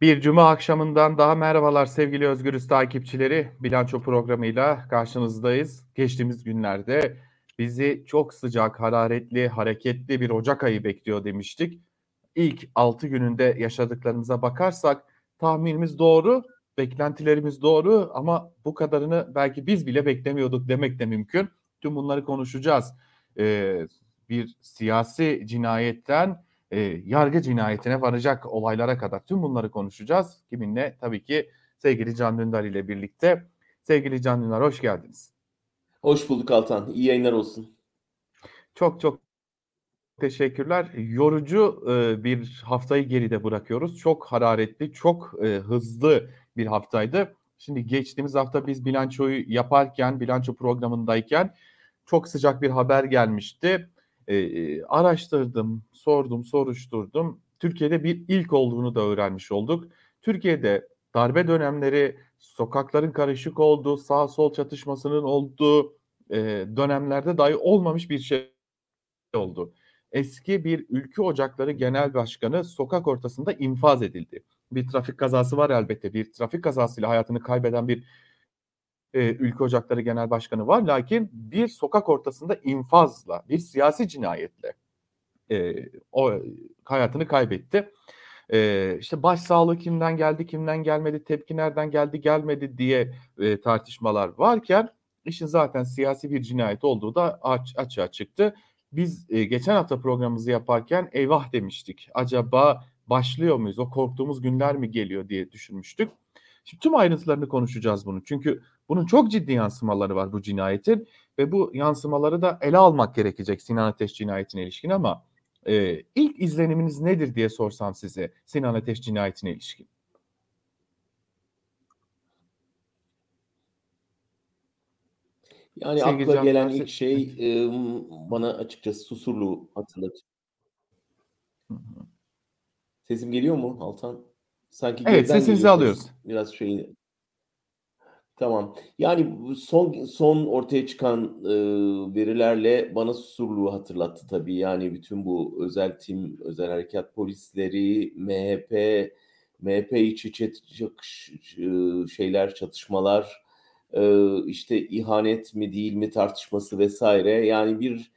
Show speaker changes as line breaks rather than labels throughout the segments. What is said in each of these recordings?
Bir cuma akşamından daha merhabalar sevgili Özgürüz takipçileri. Bilanço programıyla karşınızdayız. Geçtiğimiz günlerde bizi çok sıcak, hararetli, hareketli bir Ocak ayı bekliyor demiştik. İlk 6 gününde yaşadıklarımıza bakarsak tahminimiz doğru, beklentilerimiz doğru ama bu kadarını belki biz bile beklemiyorduk demek de mümkün. Tüm bunları konuşacağız. Bir siyasi cinayetten yargı cinayetine varacak olaylara kadar tüm bunları konuşacağız. Kiminle? Tabii ki sevgili Can Dündar ile birlikte. Sevgili Can Dündar hoş geldiniz.
Hoş bulduk Altan. İyi yayınlar olsun.
Çok çok teşekkürler. Yorucu bir haftayı geride bırakıyoruz. Çok hararetli, çok hızlı bir haftaydı. Şimdi geçtiğimiz hafta biz bilançoyu yaparken, bilanço programındayken çok sıcak bir haber gelmişti. Araştırdım, sordum, soruşturdum. Türkiye'de bir ilk olduğunu da öğrenmiş olduk. Türkiye'de darbe dönemleri, sokakların karışık olduğu, sağ sol çatışmasının olduğu dönemlerde dahi olmamış bir şey oldu. Eski bir Ülkü Ocakları Genel Başkanı sokak ortasında infaz edildi. Bir trafik kazası var elbette. Bir trafik kazasıyla hayatını kaybeden bir Ülkü Ocakları Genel Başkanı var. Lakin bir sokak ortasında infazla, bir siyasi cinayetle o hayatını kaybetti. İşte başsağlığı kimden geldi, kimden gelmedi, tepki nereden geldi, gelmedi diye tartışmalar varken işin zaten siyasi bir cinayet olduğu da açığa çıktı. Biz geçen hafta programımızı yaparken eyvah demiştik. Acaba başlıyor muyuz? O korktuğumuz günler mi geliyor diye düşünmüştük. Şimdi tüm ayrıntılarını konuşacağız bunu. Çünkü bunun çok ciddi yansımaları var bu cinayetin ve bu yansımaları da ele almak gerekecek Sinan Ateş cinayetine ilişkin ama ilk izleniminiz nedir diye sorsam size Sinan Ateş cinayetine ilişkin.
Yani
Sevgili
akla
Can
gelen
Dündar,
ilk
evet.
şey bana açıkçası Susurluğu hatırlatıyor.
Hı hı.
Sesim geliyor mu Altan? Sanki
Evet,
geriden
sesinizi
geliyor
alıyoruz.
ses. Biraz şey. Tamam. Yani bu son ortaya çıkan verilerle bana Susurluğu hatırlattı tabii. Yani bütün bu özel tim, özel harekat polisleri, MHP içi şeyler, çatışmalar, işte ihanet mi değil mi tartışması vesaire. Yani bir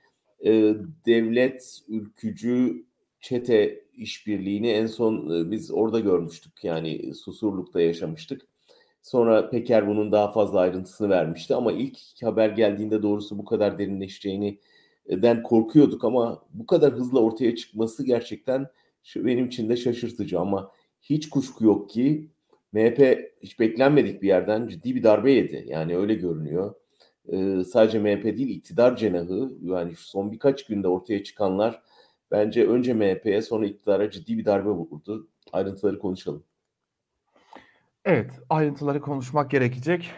devlet ülkücü çete işbirliğini en son biz orada görmüştük. Yani Susurluk'ta yaşamıştık. Sonra Peker bunun daha fazla ayrıntısını vermişti ama ilk haber geldiğinde doğrusu bu kadar derinleşeceğini den korkuyorduk ama bu kadar hızlı ortaya çıkması gerçekten benim için de şaşırtıcı ama hiç kuşku yok ki MHP hiç beklenmedik bir yerden ciddi bir darbe yedi. Yani öyle görünüyor. Sadece MHP değil iktidar cenahı yani şu son birkaç günde ortaya çıkanlar bence önce MHP'ye sonra iktidara ciddi bir darbe vurdu. Ayrıntıları konuşalım.
Evet, ayrıntıları konuşmak gerekecek.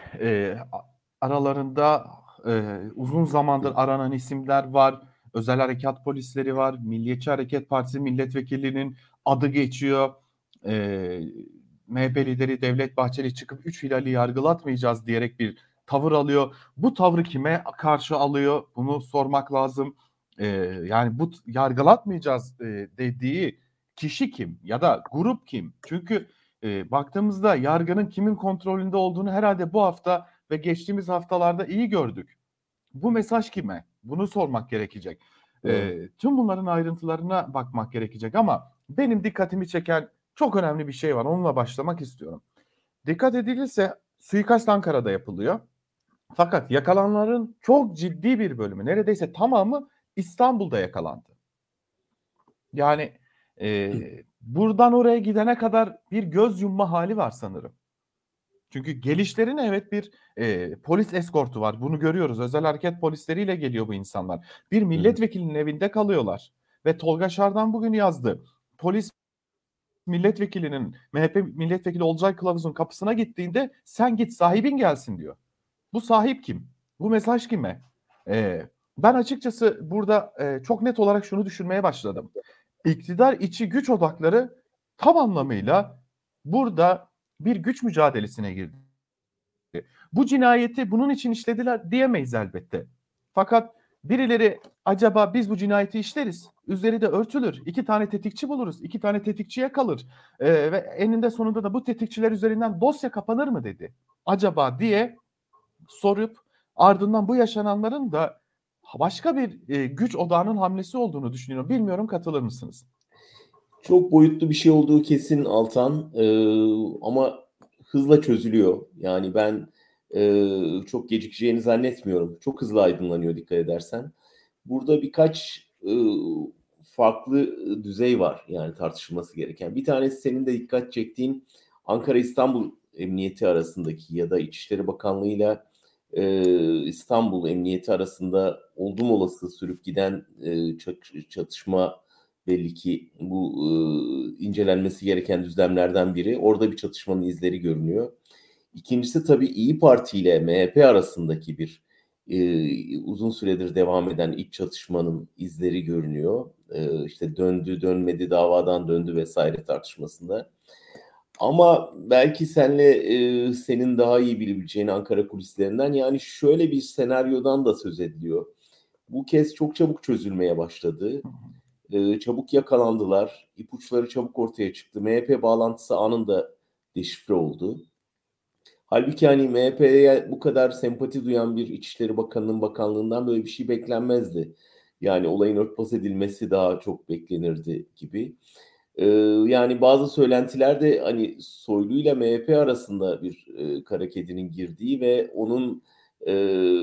Aralarında uzun zamandır aranan isimler var. Özel harekat polisleri var. Milliyetçi Hareket Partisi milletvekilinin adı geçiyor. Eee MHP lideri Devlet Bahçeli çıkıp 3 hilali yargılatmayacağız diyerek bir tavır alıyor. Bu tavrı kime karşı alıyor? Bunu sormak lazım. Yani bu yargılatmayacağız dediği kişi kim ya da grup kim? Çünkü baktığımızda yargının kimin kontrolünde olduğunu herhalde bu hafta ve geçtiğimiz haftalarda iyi gördük. Bu mesaj kime? Bunu sormak gerekecek.
Evet.
Tüm bunların ayrıntılarına bakmak gerekecek ama benim dikkatimi çeken çok önemli bir şey var. Onunla başlamak istiyorum. Dikkat edilirse suikast Ankara'da yapılıyor. Fakat yakalananların çok ciddi bir bölümü, neredeyse tamamı İstanbul'da yakalandı. Yani buradan oraya gidene kadar bir göz yumma hali var sanırım. Çünkü gelişlerine evet bir polis eskortu var. Bunu görüyoruz. Özel hareket polisleriyle geliyor bu insanlar. Bir
Hı hı.
milletvekilinin evinde kalıyorlar. Ve Tolga Şardan bugün yazdı. Polis milletvekilinin MHP milletvekili Olcay Kılavuz'un kapısına gittiğinde sen git sahibin gelsin diyor. Bu sahip kim? Bu mesaj kime? E, Ben açıkçası burada çok net olarak şunu düşünmeye başladım. İktidar içi güç odakları tam anlamıyla burada bir güç mücadelesine girdi. Bu cinayeti bunun için işlediler diyemeyiz elbette. Fakat Birileri acaba biz bu cinayeti işleriz, üzeri de örtülür, 2 tane tetikçi buluruz, 2 tane tetikçiye kalır ve eninde sonunda da bu tetikçiler üzerinden dosya kapanır mı dedi. Acaba diye sorup ardından bu yaşananların da başka bir güç odağının hamlesi olduğunu düşünüyorum. Bilmiyorum, katılır mısınız?
Çok boyutlu bir şey olduğu kesin Altan. Ama hızla çözülüyor. Yani ben çok gecikeceğini zannetmiyorum. Çok hızlı aydınlanıyor dikkat edersen. Burada birkaç farklı düzey var yani tartışılması gereken. Bir tanesi senin de dikkat çektiğin Ankara-İstanbul Emniyeti arasındaki ya da İçişleri Bakanlığı'yla İstanbul Emniyeti arasında oldum olası sürüp giden çatışma belli ki bu incelenmesi gereken düzlemlerden biri. Orada bir çatışmanın izleri görünüyor. İkincisi tabii İyi Parti ile MHP arasındaki bir uzun süredir devam eden iç çatışmanın izleri görünüyor. İşte döndü dönmedi davadan döndü vesaire tartışmasında. Ama belki senin daha iyi bilebileceğin Ankara kulislerinden yani şöyle bir senaryodan da söz ediliyor. Bu kez çok çabuk çözülmeye başladı. Çabuk yakalandılar. İpuçları çabuk ortaya çıktı. MHP bağlantısı anında deşifre oldu. Halbuki hani MHP'ye bu kadar sempati duyan bir İçişleri Bakanı'nın bakanlığından böyle bir şey beklenmezdi. Yani olayın örtbas edilmesi daha çok beklenirdi gibi. Yani bazı söylentiler de hani Soylu ile MHP arasında bir kara kedinin girdiği ve onun e,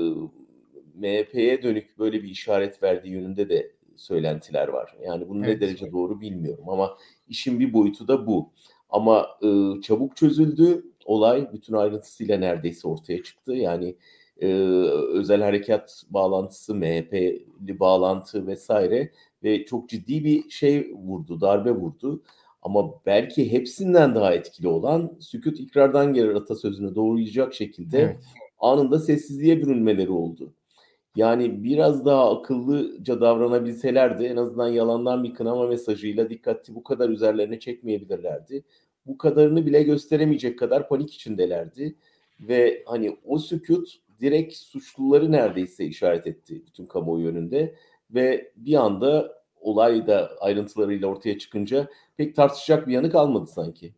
MHP'ye dönük böyle bir işaret verdiği yönünde de söylentiler var. Yani bunu ne
Evet.
derece doğru bilmiyorum ama işin bir boyutu da bu. Ama çabuk çözüldü olay bütün ayrıntısıyla neredeyse ortaya çıktı. Yani özel harekat bağlantısı, MHP'li bağlantı vesaire ve çok ciddi bir şey vurdu, darbe vurdu. Ama belki hepsinden daha etkili olan sükût ikrardan gelir atasözünü doğrulayacak şekilde
Evet.
anında sessizliğe bürünmeleri oldu. Yani biraz daha akıllıca davranabilselerdi en azından yalandan bir kınama mesajıyla dikkati bu kadar üzerlerine çekmeyebilirlerdi. Bu kadarını bile gösteremeyecek kadar panik içindelerdi. Ve hani o sükût direkt suçluları neredeyse işaret etti bütün kamuoyu önünde. Ve bir anda olay da ayrıntılarıyla ortaya çıkınca pek tartışacak bir yanı kalmadı sanki.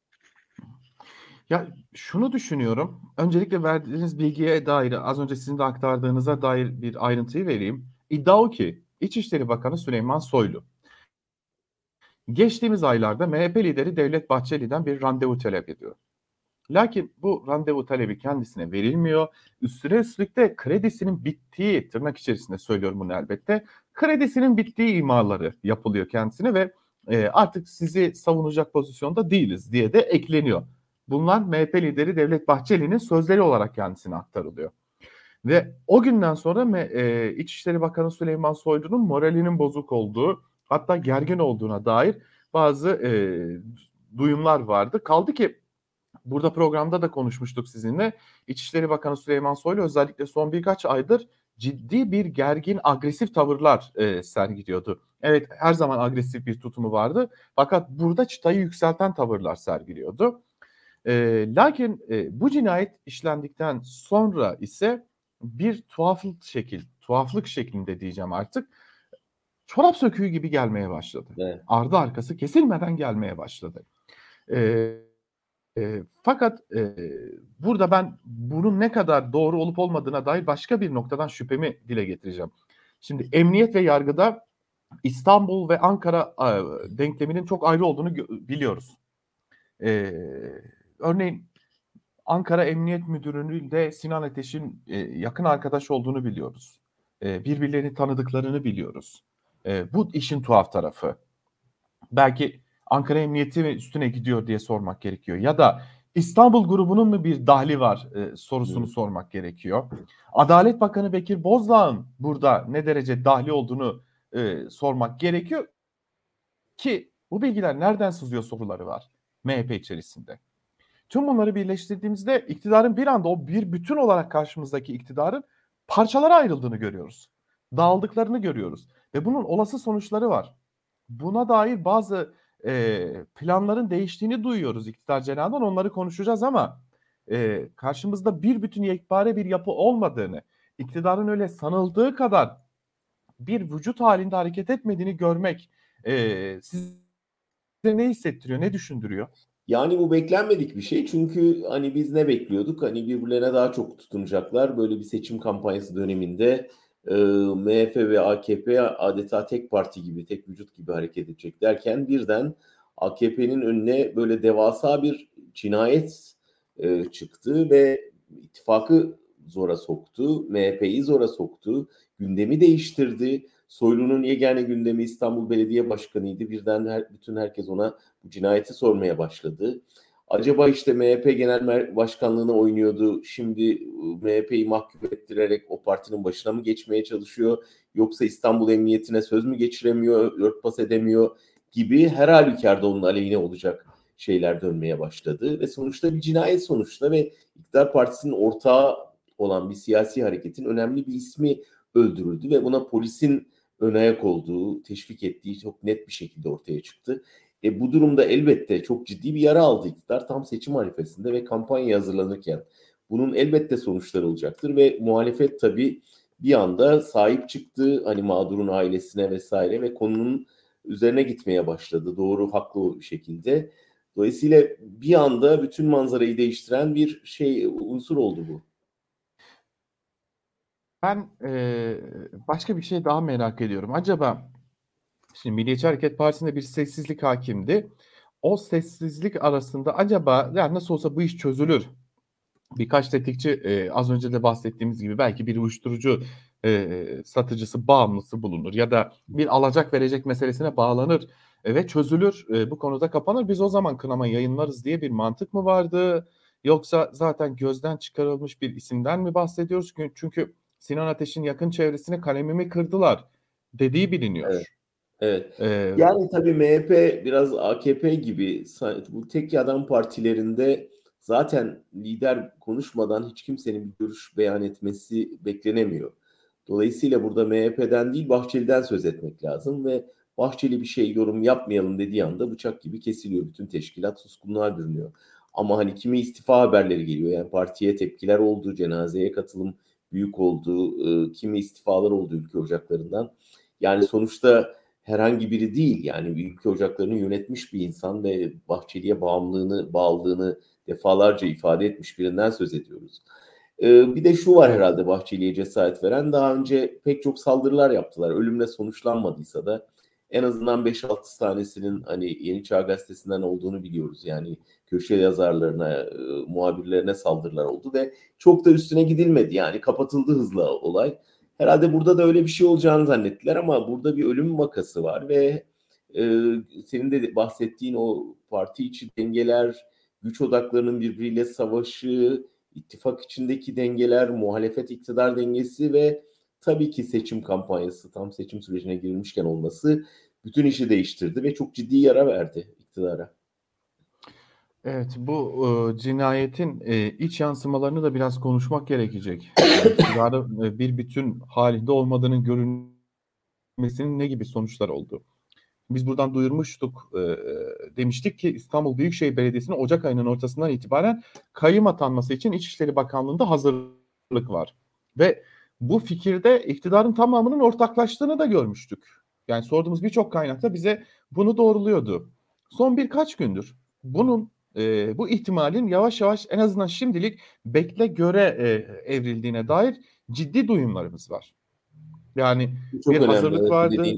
Ya şunu düşünüyorum. Öncelikle verdiğiniz bilgiye dair az önce sizin de aktardığınıza dair bir ayrıntıyı vereyim. İddia o ki İçişleri Bakanı Süleyman Soylu geçtiğimiz aylarda MHP lideri Devlet Bahçeli'den bir randevu talep ediyor. Lakin bu randevu talebi kendisine verilmiyor. Üstüne üstlük de kredisinin bittiği, tırnak içerisinde söylüyorum bunu elbette, kredisinin bittiği imaları yapılıyor kendisine ve artık sizi savunacak pozisyonda değiliz diye de ekleniyor. Bunlar MHP lideri Devlet Bahçeli'nin sözleri olarak kendisine aktarılıyor. Ve o günden sonra İçişleri Bakanı Süleyman Soylu'nun moralinin bozuk olduğu, hatta gergin olduğuna dair bazı duyumlar vardı. Kaldı ki burada programda da konuşmuştuk sizinle. İçişleri Bakanı Süleyman Soylu özellikle son birkaç aydır ciddi bir gergin, agresif tavırlar sergiliyordu. Evet, her zaman agresif bir tutumu vardı. Fakat burada çıtayı yükselten tavırlar sergiliyordu. Lakin bu cinayet işlendikten sonra ise bir tuhaflık şeklinde diyeceğim artık. Çorap söküğü gibi gelmeye başladı.
Evet.
Ardı arkası kesilmeden gelmeye başladı. Eee burada ben bunun ne kadar doğru olup olmadığına dair başka bir noktadan şüphemi dile getireceğim. Şimdi emniyet ve yargıda İstanbul ve Ankara denkleminin çok ayrı olduğunu biliyoruz. Örneğin Ankara Emniyet Müdürü'nün de Sinan Ateş'in yakın arkadaş olduğunu biliyoruz. Birbirlerini tanıdıklarını biliyoruz. Bu işin tuhaf tarafı. Belki Ankara Emniyeti mi üstüne gidiyor diye sormak gerekiyor. Ya da İstanbul grubunun mu bir dahli var sorusunu
Hı.
sormak gerekiyor. Adalet Bakanı Bekir Bozdağ'ın burada ne derece dahli olduğunu sormak gerekiyor ki bu bilgiler nereden sızıyor soruları var MHP içerisinde. Tüm bunları birleştirdiğimizde iktidarın bir anda o bir bütün olarak karşımızdaki iktidarın parçalara ayrıldığını görüyoruz. Dağıldıklarını görüyoruz ve bunun olası sonuçları var. Buna dair bazı planların değiştiğini duyuyoruz iktidar cenahından. Onları konuşacağız ama karşımızda bir bütün yekpare bir yapı olmadığını, iktidarın öyle sanıldığı kadar bir vücut halinde hareket etmediğini görmek size ne hissettiriyor, ne düşündürüyor?
Yani bu beklenmedik bir şey. Çünkü hani biz ne bekliyorduk? Hani birbirlerine daha çok tutunacaklar. Böyle bir seçim kampanyası döneminde MHP ve AKP adeta tek parti gibi, tek vücut gibi hareket edecek derken birden AKP'nin önüne böyle devasa bir cinayet çıktı ve ittifakı zora soktu, MHP'yi zora soktu, gündemi değiştirdi. Soylu'nun yegane gündemi İstanbul Belediye Başkanı'ydı. Birden bütün herkes ona bu cinayeti sormaya başladı. Acaba işte MHP Genel Başkanlığı'na oynuyordu. Şimdi MHP'yi mahkum ettirerek o partinin başına mı geçmeye çalışıyor? Yoksa İstanbul Emniyetine söz mü geçiremiyor, örtbas edemiyor gibi her halükarda onun aleyhine olacak şeyler dönmeye başladı. Ve sonuçta bir cinayet sonuçta ve iktidar partisinin ortağı olan bir siyasi hareketin önemli bir ismi öldürüldü ve buna polisin ön ayak olduğu, teşvik ettiği çok net bir şekilde ortaya çıktı. Bu durumda elbette çok ciddi bir yara aldı iktidar tam seçim arifesinde ve kampanya hazırlanırken. Bunun elbette sonuçları olacaktır ve muhalefet tabii bir anda sahip çıktı hani mağdurun ailesine vesaire ve konunun üzerine gitmeye başladı doğru haklı bir şekilde. Dolayısıyla bir anda bütün manzarayı değiştiren bir unsur oldu bu.
Ben başka bir şey daha merak ediyorum. Acaba şimdi Milliyetçi Hareket Partisi'nde bir sessizlik hakimdi. O sessizlik arasında acaba ya nasıl olsa bu iş çözülür. Birkaç tetikçi az önce de bahsettiğimiz gibi belki bir uyuşturucu satıcısı, bağımlısı bulunur ya da bir alacak verecek meselesine bağlanır ve çözülür. Bu konuda kapanır. Biz o zaman kınama yayınlarız diye bir mantık mı vardı? Yoksa zaten gözden çıkarılmış bir isimden mi bahsediyoruz? Çünkü Sinan Ateş'in yakın çevresine kalemimi kırdılar dediği
Evet.
biliniyor.
Evet.
E,
Yani tabii MHP biraz AKP gibi bu tek adam partilerinde zaten lider konuşmadan hiç kimsenin bir görüş beyan etmesi beklenemiyor. Dolayısıyla burada MHP'den değil Bahçeli'den söz etmek lazım ve Bahçeli bir şey yorum yapmayalım dediği anda bıçak gibi kesiliyor. Bütün teşkilat suskunluğa bürünüyor. Ama hani kimi istifa haberleri geliyor. Yani partiye tepkiler oldu, cenazeye katılım büyük oldu, kimi istifalar oldu ülke ocaklarından. Yani sonuçta herhangi biri değil yani ülke ocaklarını yönetmiş bir insan ve Bahçeli'ye bağlılığını defalarca ifade etmiş birinden söz ediyoruz. Bir de şu var
evet.
herhalde Bahçeli'ye cesaret veren daha önce pek çok saldırılar yaptılar. Ölümle sonuçlanmadıysa da en azından 5-6 tanesinin hani Yeni Çağ Gazetesi'nden olduğunu biliyoruz. Yani köşe yazarlarına, muhabirlerine saldırılar oldu ve çok da üstüne gidilmedi. Yani kapatıldı hızla olay. Herhalde burada da öyle bir şey olacağını zannettiler ama burada bir ölüm vakası var ve e, senin de bahsettiğin o parti içi dengeler, güç odaklarının birbiriyle savaşı, ittifak içindeki dengeler, muhalefet iktidar dengesi ve tabii ki seçim kampanyası, tam seçim sürecine girilmişken olması bütün işi değiştirdi ve çok ciddi yara verdi iktidara.
Evet, bu cinayetin iç yansımalarını da biraz konuşmak gerekecek. Yani iktidarı bir bütün halinde olmadığının görünmesinin ne gibi sonuçlar oldu? Biz buradan duyurmuştuk, demiştik ki İstanbul Büyükşehir Belediyesi'nin Ocak ayının ortasından itibaren kayyum atanması için İçişleri Bakanlığı'nda hazırlık var. Ve bu fikirde iktidarın tamamının ortaklaştığını da görmüştük. Yani sorduğumuz birçok kaynakta bize bunu doğruluyordu. Son birkaç gündür bunun bu ihtimalin yavaş yavaş en azından şimdilik bekle göre evrildiğine dair ciddi duyumlarımız var. Yani
Bu
bir
çok önemli,
hazırlık
evet bu
vardı,
dediğin.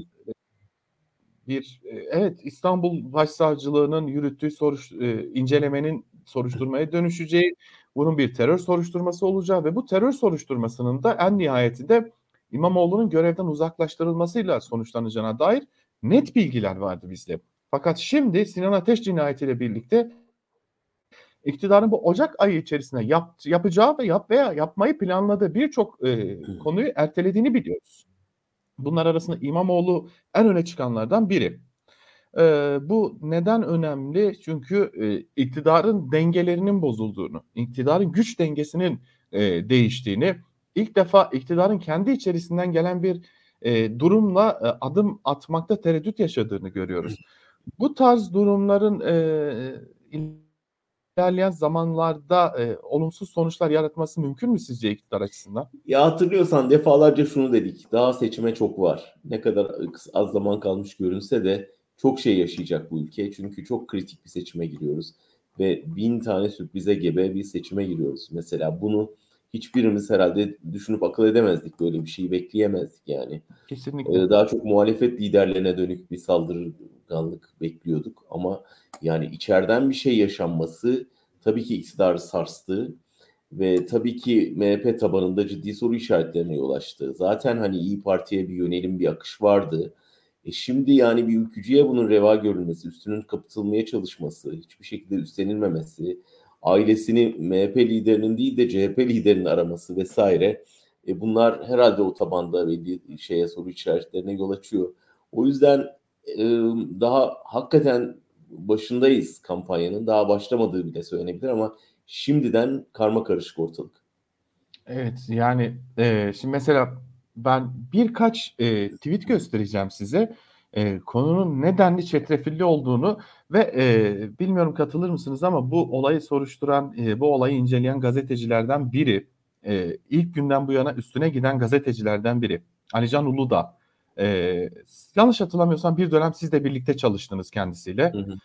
evet, İstanbul Başsavcılığı'nın yürüttüğü incelemenin soruşturmaya dönüşeceği, bunun bir terör soruşturması olacağı ve bu terör soruşturmasının da en nihayetinde İmamoğlu'nun görevden uzaklaştırılmasıyla sonuçlanacağına dair net bilgiler vardı bizde. Fakat şimdi Sinan Ateş cinayetiyle birlikte iktidarın bu Ocak ayı içerisinde yapacağı veya yapmayı planladığı birçok konuyu ertelediğini biliyoruz. Bunlar arasında İmamoğlu en öne çıkanlardan biri. Bu neden önemli? Çünkü iktidarın dengelerinin bozulduğunu, iktidarın güç dengesinin değiştiğini, ilk defa iktidarın kendi içerisinden gelen bir durumla adım atmakta tereddüt yaşadığını görüyoruz. Bu tarz durumların ilerleyen zamanlarda olumsuz sonuçlar yaratması mümkün mü sizce iktidar açısından?
Ya hatırlıyorsan defalarca şunu dedik. Daha seçime çok var. Ne kadar az zaman kalmış görünse de çok şey yaşayacak bu ülke. Çünkü çok kritik bir seçime giriyoruz. Ve 1000 tane sürprize gebe bir seçime giriyoruz. Mesela bunu hiçbirimiz herhalde düşünüp akıl edemezdik. Böyle bir şeyi bekleyemezdik yani.
Kesinlikle.
Daha çok muhalefet liderlerine dönük bir saldırganlık bekliyorduk. Ama yani içeriden bir şey yaşanması tabii ki iktidarı sarstı. Ve tabii ki MHP tabanında ciddi soru işaretlerine yol açtı. Zaten hani İyi Parti'ye bir yönelim, bir akış vardı. Şimdi yani bir ülkücüye bunun reva görülmesi, üstünün kapatılmaya çalışması, hiçbir şekilde üstlenilmemesi, ailesini MHP liderinin değil de CHP liderinin araması vesaire. Bunlar herhalde o tabanda belli soru işaretlerine yol açıyor. O yüzden e, daha hakikaten başındayız kampanyanın. Daha başlamadığı bile söylenebilir ama şimdiden karma karışık ortalık.
Evet yani şimdi mesela ben birkaç tweet göstereceğim size. Konunun nedenli çetrefilli olduğunu ve bilmiyorum katılır mısınız ama bu olayı soruşturan, bu olayı inceleyen gazetecilerden biri, ilk günden bu yana üstüne giden gazetecilerden biri. Alican Uludağ. E, Yanlış hatırlamıyorsam bir dönem siz de birlikte çalıştınız kendisiyle.
Hı hı.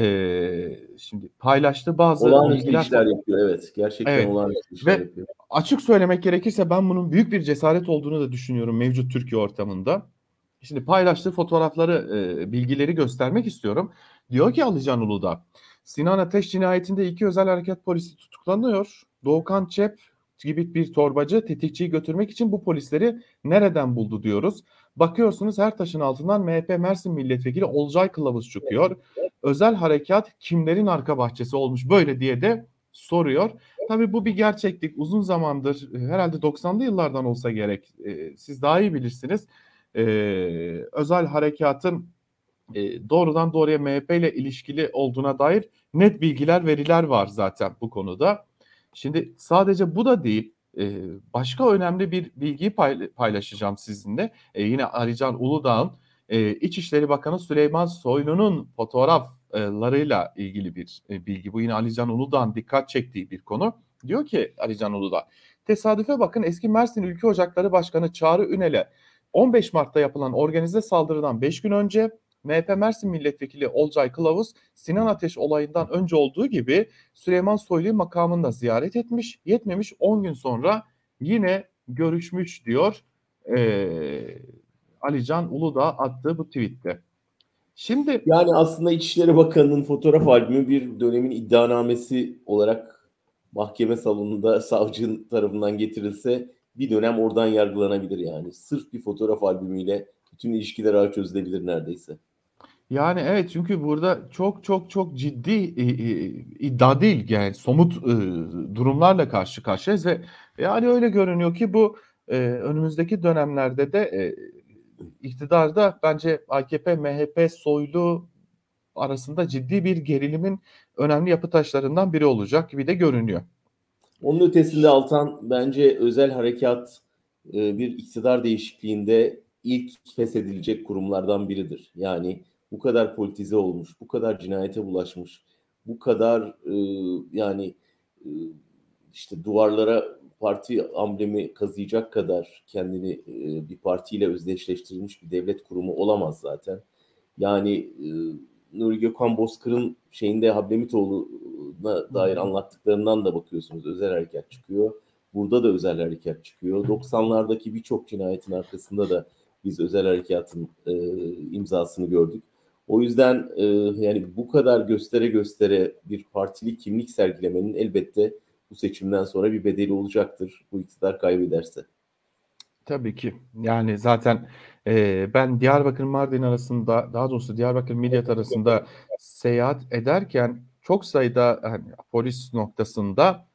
Şimdi paylaştığı bazı
Olağanüstü
bilgiler.
işler yapıyor, evet. Gerçekten
Evet
olağanüstü işler
ve
yapıyor.
açık söylemek gerekirse ben bunun büyük bir cesaret olduğunu da düşünüyorum mevcut Türkiye ortamında. Şimdi paylaştığı fotoğrafları, bilgileri göstermek istiyorum. Diyor ki Alican Uludağ, Sinan Ateş cinayetinde 2 özel harekat polisi tutuklanıyor. Doğukan Çep gibi bir torbacı tetikçiyi götürmek için bu polisleri nereden buldu diyoruz. Bakıyorsunuz her taşın altından MHP Mersin Milletvekili Olcay Kılavuz çıkıyor. Özel harekat kimlerin arka bahçesi olmuş böyle diye de soruyor. Tabii bu bir gerçeklik. Uzun zamandır herhalde 90'lı yıllardan olsa gerek. Siz daha iyi bilirsiniz. E, Özel harekatın doğrudan doğruya MHP ile ilişkili olduğuna dair net bilgiler, veriler var zaten bu konuda. Şimdi sadece bu da değil. Başka önemli bir bilgiyi paylaşacağım sizinle. Yine Arican Uludağ'ın İçişleri Bakanı Süleyman Soylu'nun fotoğraflarıyla ilgili bir bilgi. Bu yine Alican Uludağ'ın dikkat çektiği bir konu. Diyor ki Alican Uludağ, tesadüfe bakın eski Mersin Ülke Ocakları Başkanı Çağrı Ünel'e 15 Mart'ta yapılan organize saldırıdan 5 gün önce MHP Mersin Milletvekili Olcay Kılavuz Sinan Ateş olayından önce olduğu gibi Süleyman Soylu'yu makamında ziyaret etmiş. Yetmemiş 10 gün sonra yine görüşmüş diyor Alican Uludağ attığı bu tweette. Şimdi
Yani aslında İçişleri Bakanı'nın fotoğraf albümü bir dönemin iddianamesi olarak mahkeme salonunda savcının tarafından getirilse bir dönem oradan yargılanabilir yani. Sırf bir fotoğraf albümüyle bütün ilişkiler ağ çözülebilir neredeyse.
yani evet çünkü burada çok çok çok ciddi iddia değil yani somut durumlarla karşı karşıyayız ve yani öyle görünüyor ki bu önümüzdeki dönemlerde de iktidarda bence AKP, MHP, Soylu arasında ciddi bir gerilimin önemli yapı taşlarından biri olacak gibi de görünüyor.
Onun ötesinde Altan bence özel harekat bir iktidar değişikliğinde ilk feshedilecek kurumlardan biridir. Yani bu kadar politize olmuş, bu kadar cinayete bulaşmış, bu kadar yani e, işte duvarlara parti amblemi kazıyacak kadar kendini bir partiyle özdeşleştirilmiş bir devlet kurumu olamaz zaten. Yani Nuri Gökhan Bozkır'ın şeyinde Hablemitoğlu'na dair anlattıklarından da bakıyorsunuz. Özel harekat çıkıyor. Burada da özel harekat çıkıyor. 90'lardaki birçok cinayetin arkasında da biz özel harekatın imzasını gördük. O yüzden yani bu kadar göstere göstere bir partili kimlik sergilemenin elbette bu seçimden sonra bir bedeli olacaktır. Bu iktidar kaybederse.
Tabii ki. Yani zaten ben Diyarbakır Mardin arasında daha doğrusu Diyarbakır Midyat arasında seyahat ederken çok sayıda hani, polis noktasında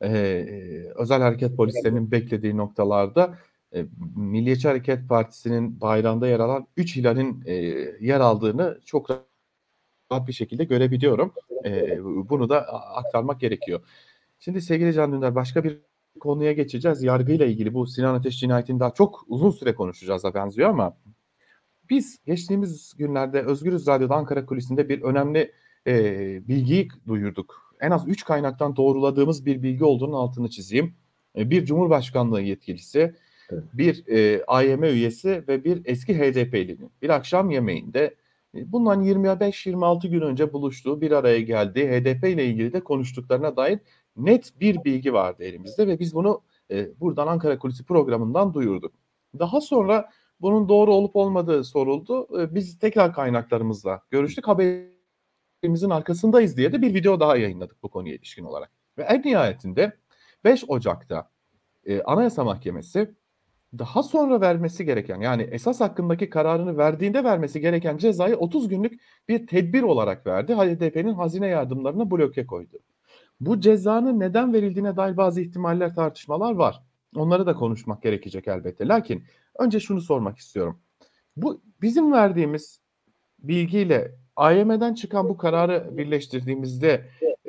özel hareket polislerinin beklediği noktalarda Milliyetçi Hareket Partisi'nin bayrağında yer alan 3 hilalin yer aldığını çok rahat bir şekilde görebiliyorum. Bunu da aktarmak gerekiyor. Şimdi sevgili Can Dündar başka bir konuya geçeceğiz. Yargıyla ilgili bu Sinan Ateş cinayetini daha çok uzun süre konuşacağız da benziyor ama biz geçtiğimiz günlerde Özgürüz Radyo'da Ankara Kulisi'nde bir önemli bilgiyi duyurduk. en az 3 kaynaktan doğruladığımız bir bilgi olduğunun altını çizeyim. Bir Cumhurbaşkanlığı yetkilisi,
Evet.
bir AYM üyesi ve bir eski HDP'linin bir akşam yemeğinde bundan 25-26 gün önce buluştuğu, bir araya geldiği, HDP ile ilgili de konuştuklarına dair net bir bilgi vardı elimizde ve biz bunu buradan Ankara Kulisi programından duyurduk. Daha sonra bunun doğru olup olmadığı soruldu. Biz tekrar kaynaklarımızla görüştük. Haberimizin arkasındayız diye de bir video daha yayınladık bu konuya ilişkin olarak. Ve en nihayetinde 5 Ocak'ta Anayasa Mahkemesi daha sonra vermesi gereken, yani esas hakkındaki kararını verdiğinde vermesi gereken cezayı 30 günlük bir tedbir olarak verdi. HDP'nin hazine yardımlarına bloke koydu. Bu cezanın neden verildiğine dair bazı ihtimaller, tartışmalar var. Onları da konuşmak gerekecek elbette. Lakin önce şunu sormak istiyorum. Bu bizim verdiğimiz bilgiyle AYM'den çıkan bu kararı birleştirdiğimizde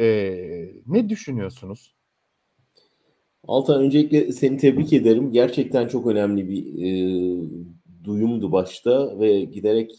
ne düşünüyorsunuz?
Altan, öncelikle seni tebrik ederim. Gerçekten çok önemli bir duyumdu başta ve giderek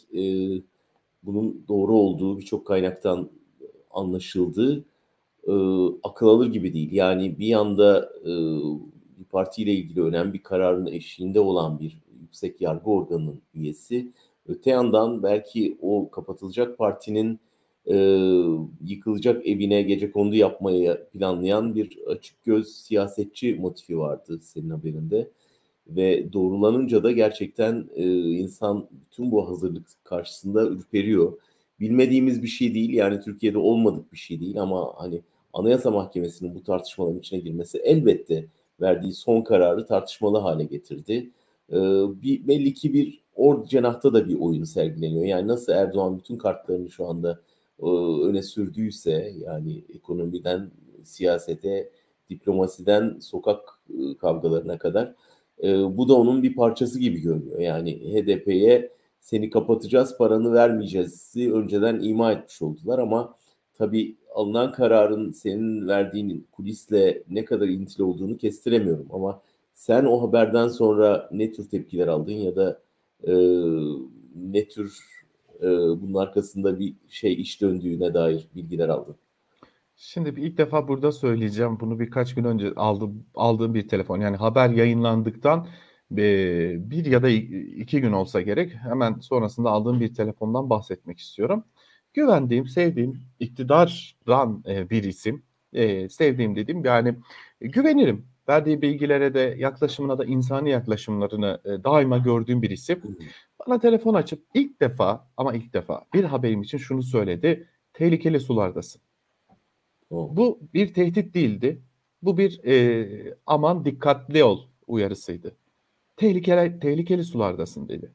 bunun doğru olduğu birçok kaynaktan anlaşıldı. Akıl alır gibi değil. Yani bir yanda bir partiyle ilgili önemli bir kararın eşiğinde olan bir yüksek yargı organının üyesi, öte yandan belki o kapatılacak partinin e, yıkılacak evine gecekondu yapmayı planlayan bir açık göz siyasetçi motifi vardı senin haberinde. Ve doğrulanınca da gerçekten insan bütün bu hazırlık karşısında ürperiyor. Bilmediğimiz bir şey değil, yani Türkiye'de olmadık bir şey değil, ama hani Anayasa Mahkemesi'nin bu tartışmaların içine girmesi elbette verdiği son kararı tartışmalı hale getirdi. Belli ki bir cenahta da bir oyun sergileniyor. Yani nasıl Erdoğan bütün kartlarını şu anda öne sürdüyse, yani ekonomiden siyasete, diplomasiden sokak kavgalarına kadar, bu da onun bir parçası gibi görünüyor. Yani HDP'ye seni kapatacağız, paranı vermeyeceğiz önceden ima etmiş oldular, ama tabii alınan kararın senin verdiğin kulisle ne kadar ilintili olduğunu kestiremiyorum. Ama sen o haberden sonra ne tür tepkiler aldın ya da e, ne tür bunun arkasında bir iş döndüğüne dair bilgiler aldın?
Şimdi ilk defa burada söyleyeceğim. Bunu birkaç gün önce aldığım bir telefon. Yani haber yayınlandıktan bir ya da 2 gün olsa gerek. Hemen sonrasında aldığım bir telefondan bahsetmek istiyorum. Güvendiğim, sevdiğim, iktidaran bir isim. Sevdiğim dediğim, yani güvenirim. Verdiği bilgilere de, yaklaşımına da, insani yaklaşımlarını daima gördüğüm bir isim. Bana telefon açıp ilk defa, ama ilk defa bir haberim için şunu söyledi: tehlikeli sulardasın.
O.
Bu bir tehdit değildi. Bu bir aman dikkatli ol uyarısıydı. Tehlikeli sulardasın dedi.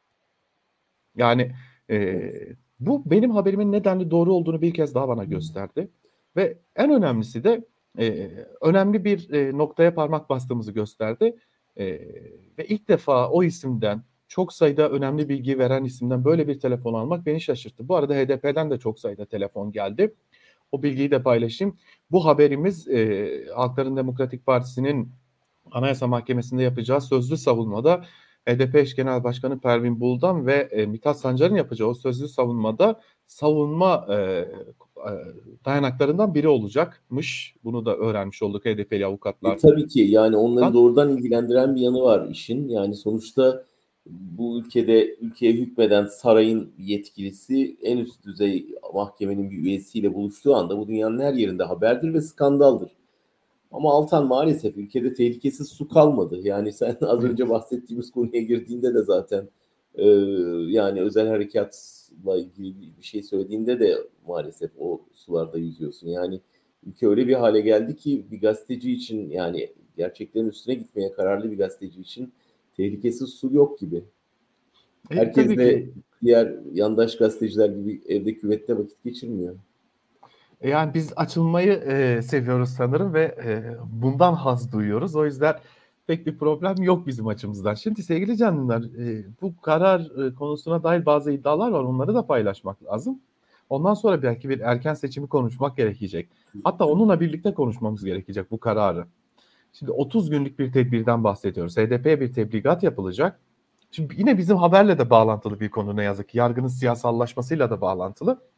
Yani
Evet.
bu benim haberimin nedenli doğru olduğunu bir kez daha bana gösterdi. Ve en önemlisi de önemli bir noktaya parmak bastığımızı gösterdi. Ve ilk defa o isimden, çok sayıda önemli bilgi veren isimden böyle bir telefon almak beni şaşırttı. Bu arada HDP'den de çok sayıda telefon geldi. O bilgiyi de paylaşayım. Bu haberimiz Halkların Demokratik Partisi'nin Anayasa Mahkemesi'nde yapacağı sözlü savunmada HDP eş genel başkanı Pervin Buldan ve Mithat Sancar'ın yapacağı o sözlü savunmada savunma dayanaklarından biri olacakmış. Bunu da öğrenmiş olduk HDP'li avukatlardan.
Tabii ki, yani onları doğrudan ilgilendiren bir yanı var işin. Yani sonuçta bu ülkeye hükmeden sarayın yetkilisi en üst düzey mahkemenin bir üyesiyle buluştuğu anda bu dünyanın her yerinde haberdir ve skandaldır. Ama Altan, maalesef ülkede tehlikesiz su kalmadı. Yani sen az
Evet.
önce bahsettiğimiz konuya girdiğinde de zaten e, yani özel harekatla ilgili bir şey söylediğinde de maalesef o sularda yüzüyorsun. Yani ülke öyle bir hale geldi ki bir gazeteci için, yani gerçeklerin üstüne gitmeye kararlı bir gazeteci için tehlikesiz su yok gibi. Herkes
Tabii
de
ki.
diğer yandaş gazeteciler gibi evde küvette vakit geçirmiyor.
Yani biz açılmayı seviyoruz sanırım ve bundan haz duyuyoruz. O yüzden pek bir problem yok bizim açımızdan. Şimdi sevgili canlılar, bu karar konusuna dair bazı iddialar var. Onları da paylaşmak lazım. Ondan sonra belki bir erken seçimi konuşmak gerekecek. Hatta onunla birlikte konuşmamız gerekecek bu kararı. Şimdi 30 günlük bir tedbirden bahsediyoruz. HDP'ye bir tebligat yapılacak. Şimdi yine bizim haberle de bağlantılı bir konu, ne yazık ki. Yargının siyasallaşmasıyla da bağlantılı.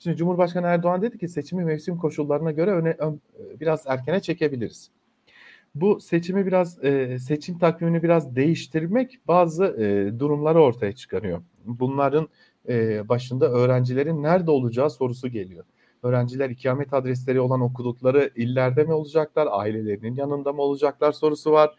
Şimdi Cumhurbaşkanı Erdoğan dedi ki seçimi mevsim koşullarına göre biraz erkene çekebiliriz. Bu seçimi seçim takvimini biraz değiştirmek bazı durumları ortaya çıkarıyor. Bunların başında öğrencilerin nerede olacağı sorusu geliyor. Öğrenciler ikamet adresleri olan okudukları illerde mi olacaklar, ailelerinin yanında mı olacaklar sorusu var.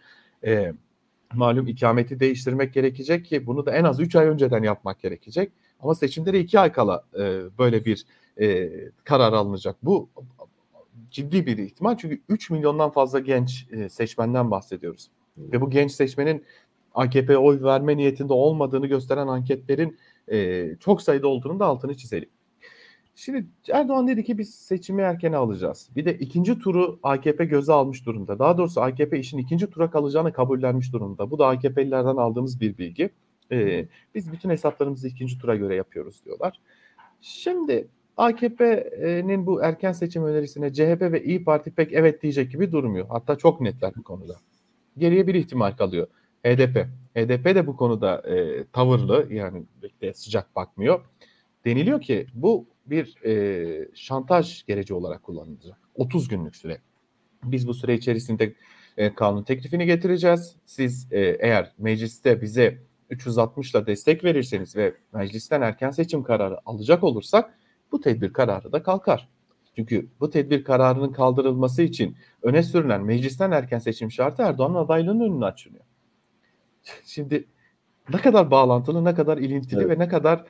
Malum ikameti değiştirmek gerekecek ki bunu da en az 3 ay önceden yapmak gerekecek. Ama seçimlere 2 ay kala böyle bir karar alınacak. Bu ciddi bir ihtimal çünkü 3 milyondan fazla genç seçmenden bahsediyoruz. Ve bu genç seçmenin AKP'ye oy verme niyetinde olmadığını gösteren anketlerin çok sayıda olduğunu da altını çizelim. Şimdi Erdoğan dedi ki biz seçimi erkene alacağız. Bir de ikinci turu AKP göze almış durumda. Daha doğrusu AKP işin ikinci tura kalacağını kabullenmiş durumda. Bu da AKP'lilerden aldığımız bir bilgi. Biz bütün hesaplarımızı ikinci tura göre yapıyoruz diyorlar. Şimdi AKP'nin bu erken seçim önerisine CHP ve İyi Parti pek evet diyecek gibi durmuyor. Hatta çok netler bu konuda. Geriye bir ihtimal kalıyor. HDP. HDP de bu konuda tavırlı, yani de sıcak bakmıyor. Deniliyor ki bu bir şantaj gereci olarak kullanılacak. 30 günlük süre. Biz bu süre içerisinde kanun teklifini getireceğiz. Siz eğer mecliste bize 360'la destek verirseniz ve meclisten erken seçim kararı alacak olursak bu tedbir kararı da kalkar. Çünkü bu tedbir kararının kaldırılması için öne sürülen meclisten erken seçim şartı Erdoğan'ın adaylığının önünü açılıyor. Şimdi ne kadar bağlantılı, ne kadar ilintili
Evet.
ve ne kadar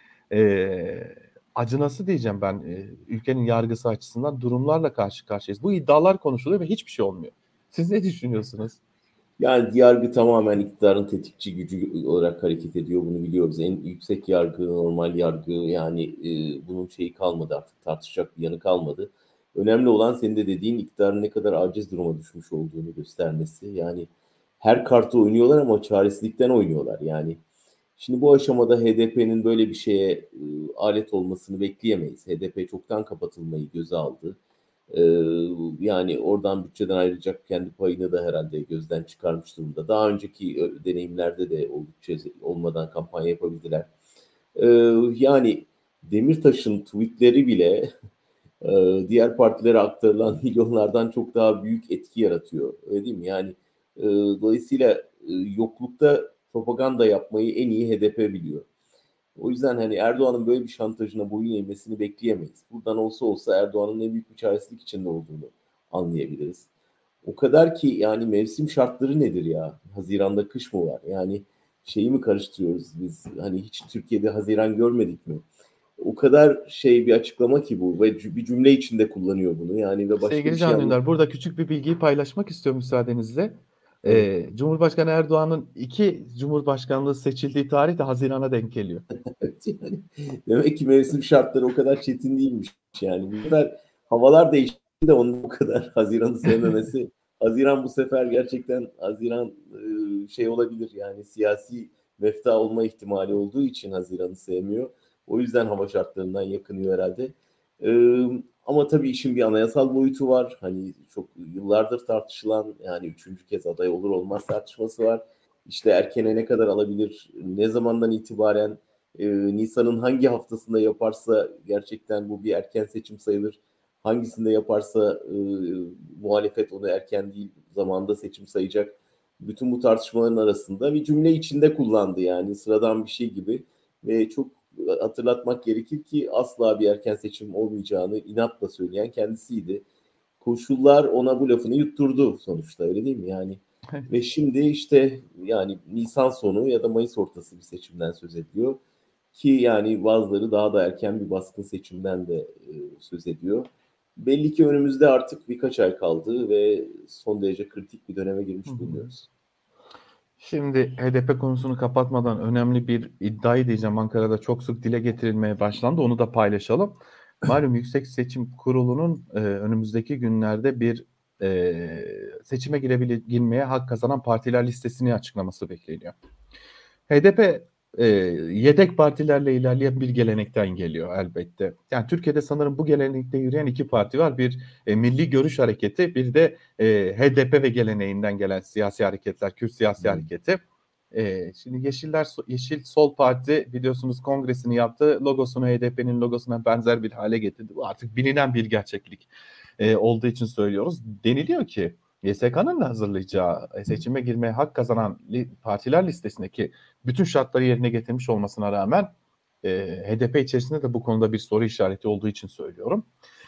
acınası diyeceğim ben ülkenin yargısı açısından durumlarla karşı karşıyayız. Bu iddialar konuşuluyor ve hiçbir şey olmuyor. Siz ne düşünüyorsunuz?
Yani yargı tamamen iktidarın tetikçi gücü olarak hareket ediyor. Bunu biliyoruz. En yüksek yargı, normal yargı, yani bunun şeyi kalmadı artık, tartışacak bir yanı kalmadı. Önemli olan senin de dediğin iktidarın ne kadar aciz duruma düşmüş olduğunu göstermesi. Yani her kartı oynuyorlar ama çaresizlikten oynuyorlar. Yani şimdi bu aşamada HDP'nin böyle bir şeye alet olmasını bekleyemeyiz. HDP çoktan kapatılmayı göze aldı. Yani oradan bütçeden ayrılacak kendi payını da herhalde gözden çıkarmış durumda. Daha önceki deneyimlerde de o bütçe olmadan kampanya yapabildiler. Yani Demirtaş'ın tweetleri bile diğer partilere aktarılan milyonlardan çok daha büyük etki yaratıyor. Öyle değil mi? Yani dolayısıyla yoklukta propaganda yapmayı en iyi HDP biliyor. O yüzden hani Erdoğan'ın böyle bir şantajına boyun eğmesini bekleyemeyiz. Buradan olsa Erdoğan'ın ne büyük bir çaresizlik içinde olduğunu anlayabiliriz. O kadar ki yani mevsim şartları nedir ya? Haziran'da kış mı var? Yani şeyi mi karıştırıyoruz biz? Hani hiç Türkiye'de Haziran görmedik mi? O kadar şey bir açıklama ki bu ve bir cümle içinde kullanıyor bunu. Yani ve başka bir
Sevgili
şey
Can Dündar, burada küçük bir bilgiyi paylaşmak istiyorum müsaadenizle.
Evet.
Cumhurbaşkanı Erdoğan'ın 2 Cumhurbaşkanlığı seçildiği tarih de Haziran'a denk geliyor.
Evet, yani demek ki mevsim şartları o kadar çetin değilmiş yani. Bu sefer havalar değişti de onun bu kadar Haziran'ı sevmemesi. Haziran bu sefer gerçekten Haziran şey olabilir yani siyasi mefta olma ihtimali olduğu için Haziran'ı sevmiyor. O yüzden hava şartlarından yakınıyor herhalde. E, Ama tabii işin bir anayasal boyutu var. Hani çok yıllardır tartışılan yani üçüncü kez aday olur olmaz tartışması var. İşte erkene ne kadar alabilir, ne zamandan itibaren Nisan'ın hangi haftasında yaparsa gerçekten bu bir erken seçim sayılır. Hangisinde yaparsa muhalefet onu erken değil zamanda seçim sayacak. Bütün bu tartışmaların arasında bir cümle içinde kullandı yani sıradan bir şey gibi. Ve çok hatırlatmak gerekir ki asla bir erken seçim olmayacağını inatla söyleyen kendisiydi. Koşullar ona bu lafını yutturdu sonuçta öyle değil mi? Yani ve şimdi işte yani Nisan sonu ya da Mayıs ortası bir seçimden söz ediyor. Ki yani bazıları daha da erken bir baskın seçimden de söz ediyor. Belli ki önümüzde artık birkaç ay kaldı ve son derece kritik bir döneme
Hı
girmiş
hı.
bulunuyoruz.
Şimdi HDP konusunu kapatmadan önemli bir iddiayı diyeceğim. Ankara'da çok sık dile getirilmeye başlandı. Onu da paylaşalım. Malum Yüksek Seçim Kurulu'nun önümüzdeki günlerde bir seçime girmeye hak kazanan partiler listesini açıklaması bekleniyor. HDP yedek partilerle ilerleyen bir gelenekten geliyor elbette. Yani Türkiye'de sanırım bu gelenekte yürüyen 2 parti var. Bir Milli Görüş Hareketi, bir de HDP ve geleneğinden gelen siyasi hareketler, Kürt siyasi hareketi. Şimdi Yeşil Sol Parti biliyorsunuz kongresini yaptı. Logosunu HDP'nin logosuna benzer bir hale getirdi. Bu artık bilinen bir gerçeklik olduğu için söylüyoruz. Deniliyor ki YSK'nın hazırlayacağı seçime girmeye hak kazanan partiler listesindeki bütün şartları yerine getirmiş olmasına rağmen HDP içerisinde de bu konuda bir soru işareti olduğu için söylüyorum.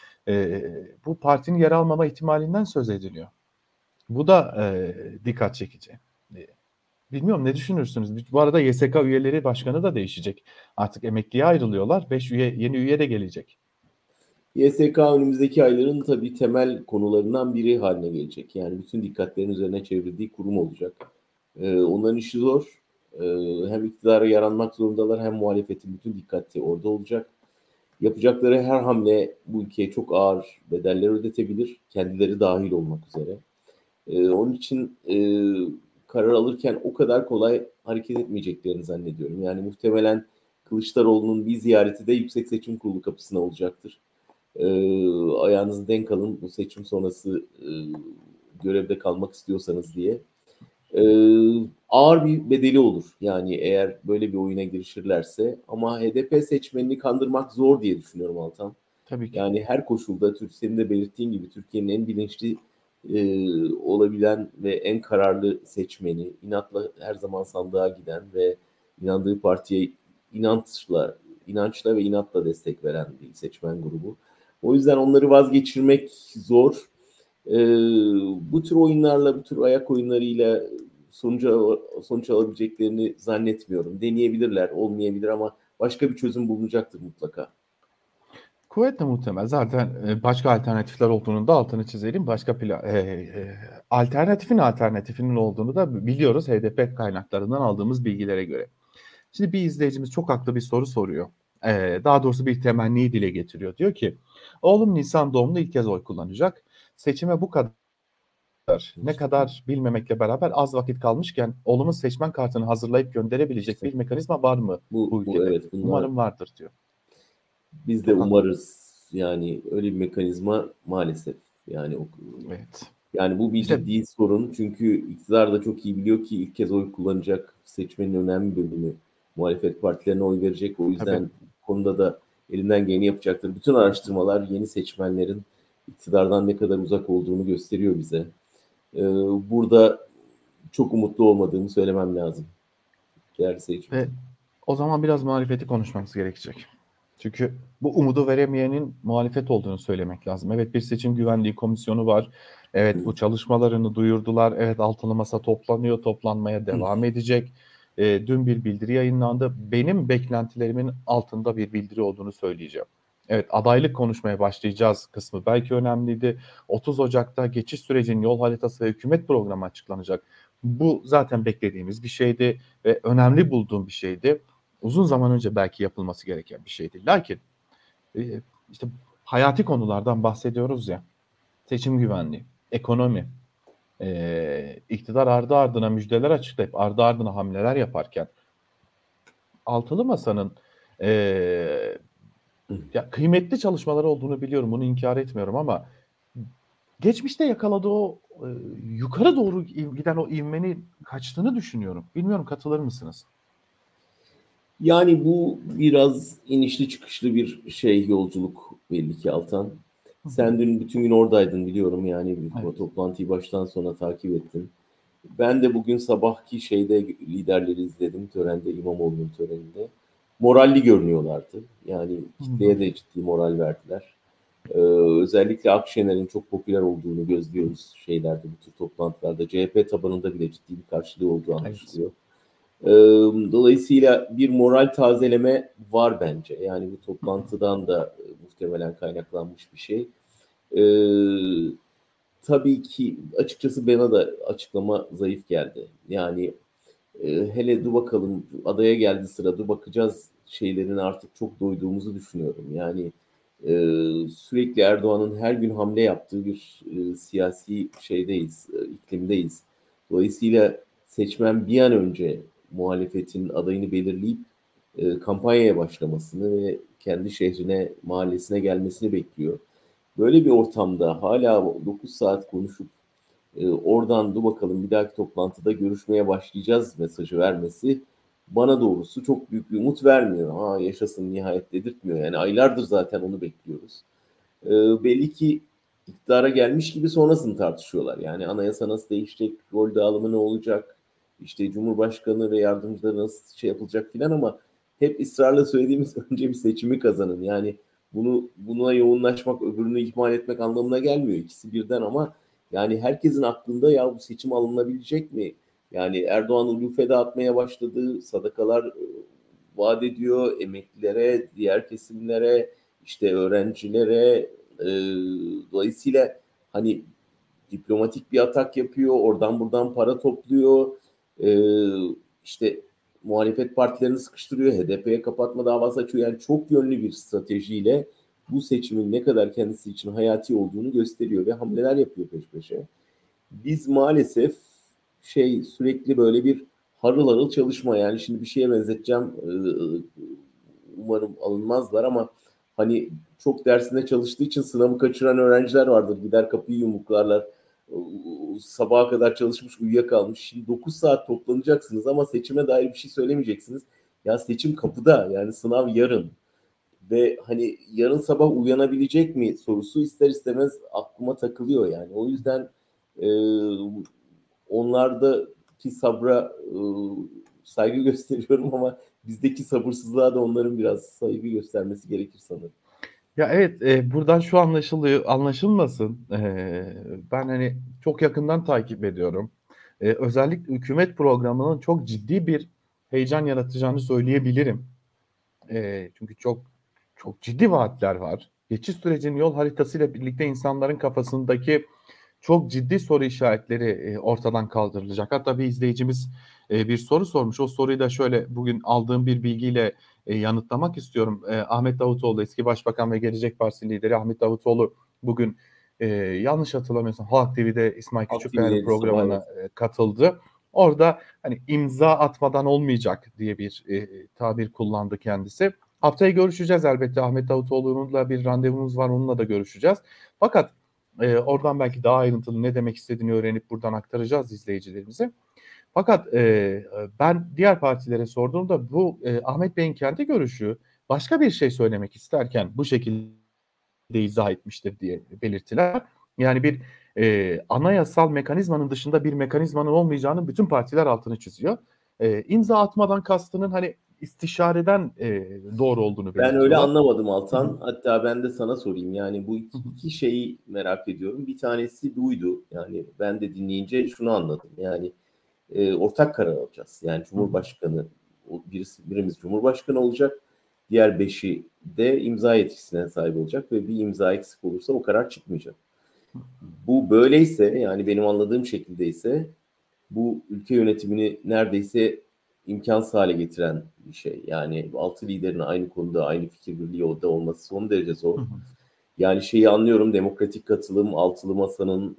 Bu partinin yer almama ihtimalinden söz ediliyor. Bu da dikkat çekici. Bilmiyorum ne düşünürsünüz? Bu arada YSK üyeleri başkanı da değişecek. Artık emekliye ayrılıyorlar. 5 yeni üye de gelecek.
YSK önümüzdeki ayların tabii temel konularından biri haline gelecek. Yani bütün dikkatlerin üzerine çevrildiği kurum olacak. Onların işi zor. Hem iktidara yaranmak zorundalar hem muhalefetin bütün dikkati orada olacak. Yapacakları her hamle bu ülkeye çok ağır bedeller ödetebilir. Kendileri dahil olmak üzere. Onun için karar alırken o kadar kolay hareket etmeyeceklerini zannediyorum. Yani muhtemelen Kılıçdaroğlu'nun bir ziyareti de Yüksek Seçim Kurulu kapısına olacaktır. Ayağınızı denk alın bu seçim sonrası görevde kalmak istiyorsanız diye. Ağır bir bedeli olur. Yani eğer böyle bir oyuna girişirlerse. Ama HDP seçmenini kandırmak zor diye düşünüyorum Altan.
Tabii ki.
Yani her koşulda senin de belirttiğin gibi Türkiye'nin en bilinçli olabilen ve en kararlı seçmeni, inatla her zaman sandığa giden ve inandığı partiye inançla ve inatla destek veren bir seçmen grubu. O yüzden onları vazgeçirmek zor. Bu tür oyunlarla, bu tür ayak oyunlarıyla sonuç alabileceklerini zannetmiyorum. Deneyebilirler, olmayabilir ama başka bir çözüm bulunacaktır mutlaka.
Kuvvetle muhtemel. Zaten başka alternatifler olduğunu da altını çizelim. Başka alternatifinin olduğunu da biliyoruz HDP kaynaklarından aldığımız bilgilere göre. Şimdi bir izleyicimiz çok haklı bir soru soruyor. Daha doğrusu bir temenniyi dile getiriyor. Diyor ki, oğlum Nisan doğumlu ilk kez oy kullanacak. Seçime bu kadar ne kadar bilmemekle beraber az vakit kalmışken oğlumun seçmen kartını hazırlayıp gönderebilecek bir mekanizma var mı bu
Bu
ülkede?
evet, bunlar
Umarım vardır diyor.
biz de
Çok haklı.
umarız. Yani öyle bir mekanizma maalesef. Yani
Evet.
yani bu bir
İşte
ciddi sorun. Çünkü iktidar da çok iyi biliyor ki ilk kez oy kullanacak seçmenin önemli bölümü muhalefet partilerine oy verecek. O
tabii.
yüzden bu konuda da elinden geleni yapacaktır. Bütün araştırmalar yeni seçmenlerin iktidardan ne kadar uzak olduğunu gösteriyor bize. Burada çok umutlu olmadığımı söylemem lazım. Değerli seyircimiz.
Ve o zaman biraz muhalefeti konuşmamız gerekecek. Çünkü bu umudu veremeyenin muhalefet olduğunu söylemek lazım. Evet, bir seçim güvenliği komisyonu var. Evet, bu çalışmalarını duyurdular. Evet, altılı masa toplanıyor, toplanmaya devam edecek. Dün bir bildiri yayınlandı. Benim beklentilerimin altında bir bildiri olduğunu söyleyeceğim. Evet, adaylık konuşmaya başlayacağız kısmı belki önemliydi. 30 Ocak'ta geçiş sürecinin yol haritası ve hükümet programı açıklanacak. Bu zaten beklediğimiz bir şeydi ve önemli bulduğum bir şeydi. Uzun zaman önce belki yapılması gereken bir şeydi. Lakin işte hayati konulardan bahsediyoruz ya. Seçim güvenliği, ekonomi, iktidar ardı ardına müjdeler açıklayıp ardı ardına hamleler yaparken altılı masanın e, ya kıymetli çalışmaları olduğunu biliyorum. Bunu inkar etmiyorum ama geçmişte yakaladığı o yukarı doğru giden o ivmenin kaçtığını düşünüyorum. Bilmiyorum, katılır mısınız?
Yani bu biraz inişli çıkışlı bir yolculuk belli ki Altan.
Hı hı.
Sen dün bütün gün oradaydın biliyorum yani bu
Evet.
toplantıyı baştan sona takip ettin. Ben de bugün sabahki liderleri izledim törende İmamoğlu'nun töreninde. Moralli görünüyorlardı. Yani
Hı hı.
kitleye de ciddi moral verdiler. Özellikle Akşener'in çok popüler olduğunu gözlüyoruz bu tür toplantılarda. CHP tabanında bile ciddi bir karşılığı olduğu
Evet.
anlaşılıyor. Dolayısıyla bir moral tazeleme var bence. Yani bu toplantıdan da muhtemelen kaynaklanmış bir şey. Ee, tabii ki açıkçası bana da açıklama zayıf geldi. Yani hele dur bakalım adaya geldi sıra dur bakacağız şeylerin artık çok doyduğumuzu düşünüyorum. Yani e, sürekli Erdoğan'ın her gün hamle yaptığı bir siyasi iklimdeyiz. Dolayısıyla seçmen bir an önce muhalefetin adayını belirleyip kampanyaya başlamasını ve kendi şehrine, mahallesine gelmesini bekliyor. Böyle bir ortamda hala 9 saat konuşup Oradan da bakalım bir dahaki toplantıda görüşmeye başlayacağız mesajı vermesi bana doğrusu çok büyük bir umut vermiyor. Ha, yaşasın nihayet dedirtmiyor. Yani aylardır zaten onu bekliyoruz. Belli ki iktidara gelmiş gibi sonrasını tartışıyorlar. Yani anayasa nasıl değişecek, rol dağılımı ne olacak, işte Cumhurbaşkanı ve yardımcıları nasıl şey yapılacak filan ama hep ısrarla söylediğimiz önce bir seçimi kazanın. Yani buna yoğunlaşmak, öbürünü ihmal etmek anlamına gelmiyor. İkisi birden ama yani herkesin aklında ya bu seçim alınabilecek mi? Yani Erdoğan ulufe dağıtmaya başladı, sadakalar vaat ediyor emeklilere, diğer kesimlere, işte öğrencilere. E, Dolayısıyla hani diplomatik bir atak yapıyor, oradan buradan para topluyor, e, işte muhalefet partilerini sıkıştırıyor, HDP'ye kapatma davası açıyor. Yani çok yönlü bir stratejiyle bu seçimin ne kadar kendisi için hayati olduğunu gösteriyor ve hamleler yapıyor peş peşe. Biz maalesef sürekli böyle bir harıl harıl çalışma yani şimdi bir şeye benzeteceğim umarım alınmazlar ama hani çok dersinde çalıştığı için sınavı kaçıran öğrenciler vardır. Gider kapıyı yumruklarlar. Sabaha kadar çalışmış uyuyakalmış. Şimdi 9 saat toplanacaksınız ama seçime dair bir şey söylemeyeceksiniz. Ya seçim kapıda yani sınav yarın ve hani yarın sabah uyanabilecek mi sorusu ister istemez aklıma takılıyor yani. O yüzden e, onlardaki sabra saygı gösteriyorum ama bizdeki sabırsızlığa da onların biraz saygı göstermesi gerekir sanırım.
Ya evet, buradan şu anlaşılıyor, anlaşılmasın. Ben hani çok yakından takip ediyorum. Özellikle hükümet programının çok ciddi bir heyecan yaratacağını söyleyebilirim. Çünkü çok ciddi vaatler var. Geçiş sürecinin yol haritasıyla birlikte insanların kafasındaki çok ciddi soru işaretleri ortadan kaldırılacak. Hatta bir izleyicimiz bir soru sormuş. O soruyu da şöyle bugün aldığım bir bilgiyle yanıtlamak istiyorum. Ahmet Davutoğlu, eski başbakan ve Gelecek Partisi lideri Ahmet Davutoğlu bugün yanlış hatırlamıyorsam Halk TV'de İsmail
Halk
Küçükkaya'nın
TV'deydi sabah
programına
evet.
katıldı. Orada hani imza atmadan olmayacak diye bir tabir kullandı kendisi. Haftaya görüşeceğiz elbette. Ahmet Davutoğlu'nunla bir randevumuz var. Onunla da görüşeceğiz. Fakat oradan belki daha ayrıntılı ne demek istediğini öğrenip buradan aktaracağız izleyicilerimize. Fakat ben diğer partilere sorduğumda bu Ahmet Bey'in kendi görüşü başka bir şey söylemek isterken bu şekilde izah etmiştir diye belirttiler. Yani bir anayasal mekanizmanın dışında bir mekanizmanın olmayacağının bütün partiler altını çiziyor. İmza atmadan kastının hani istişareden doğru olduğunu
Ben öyle
belirtiyorlar.
anlamadım
Hı hı,
Altan. Hatta ben de sana sorayım. Yani bu
hı hı,
iki şeyi merak ediyorum. Bir tanesi buydu. Yani ben de dinleyince şunu anladım. Yani ortak karar alacağız. Yani
hı hı,
Cumhurbaşkanı birimiz Cumhurbaşkanı olacak. Diğer beşi de imza yetkisine sahip olacak ve bir imza eksik olursa o karar çıkmayacak. Bu böyleyse yani benim anladığım şekilde ise bu ülke yönetimini neredeyse imkansız hale getiren bir şey. Yani altı liderin aynı konuda aynı fikir birliği olması son derece zor.
hı hı.
Yani şeyi anlıyorum demokratik katılım, altılı masanın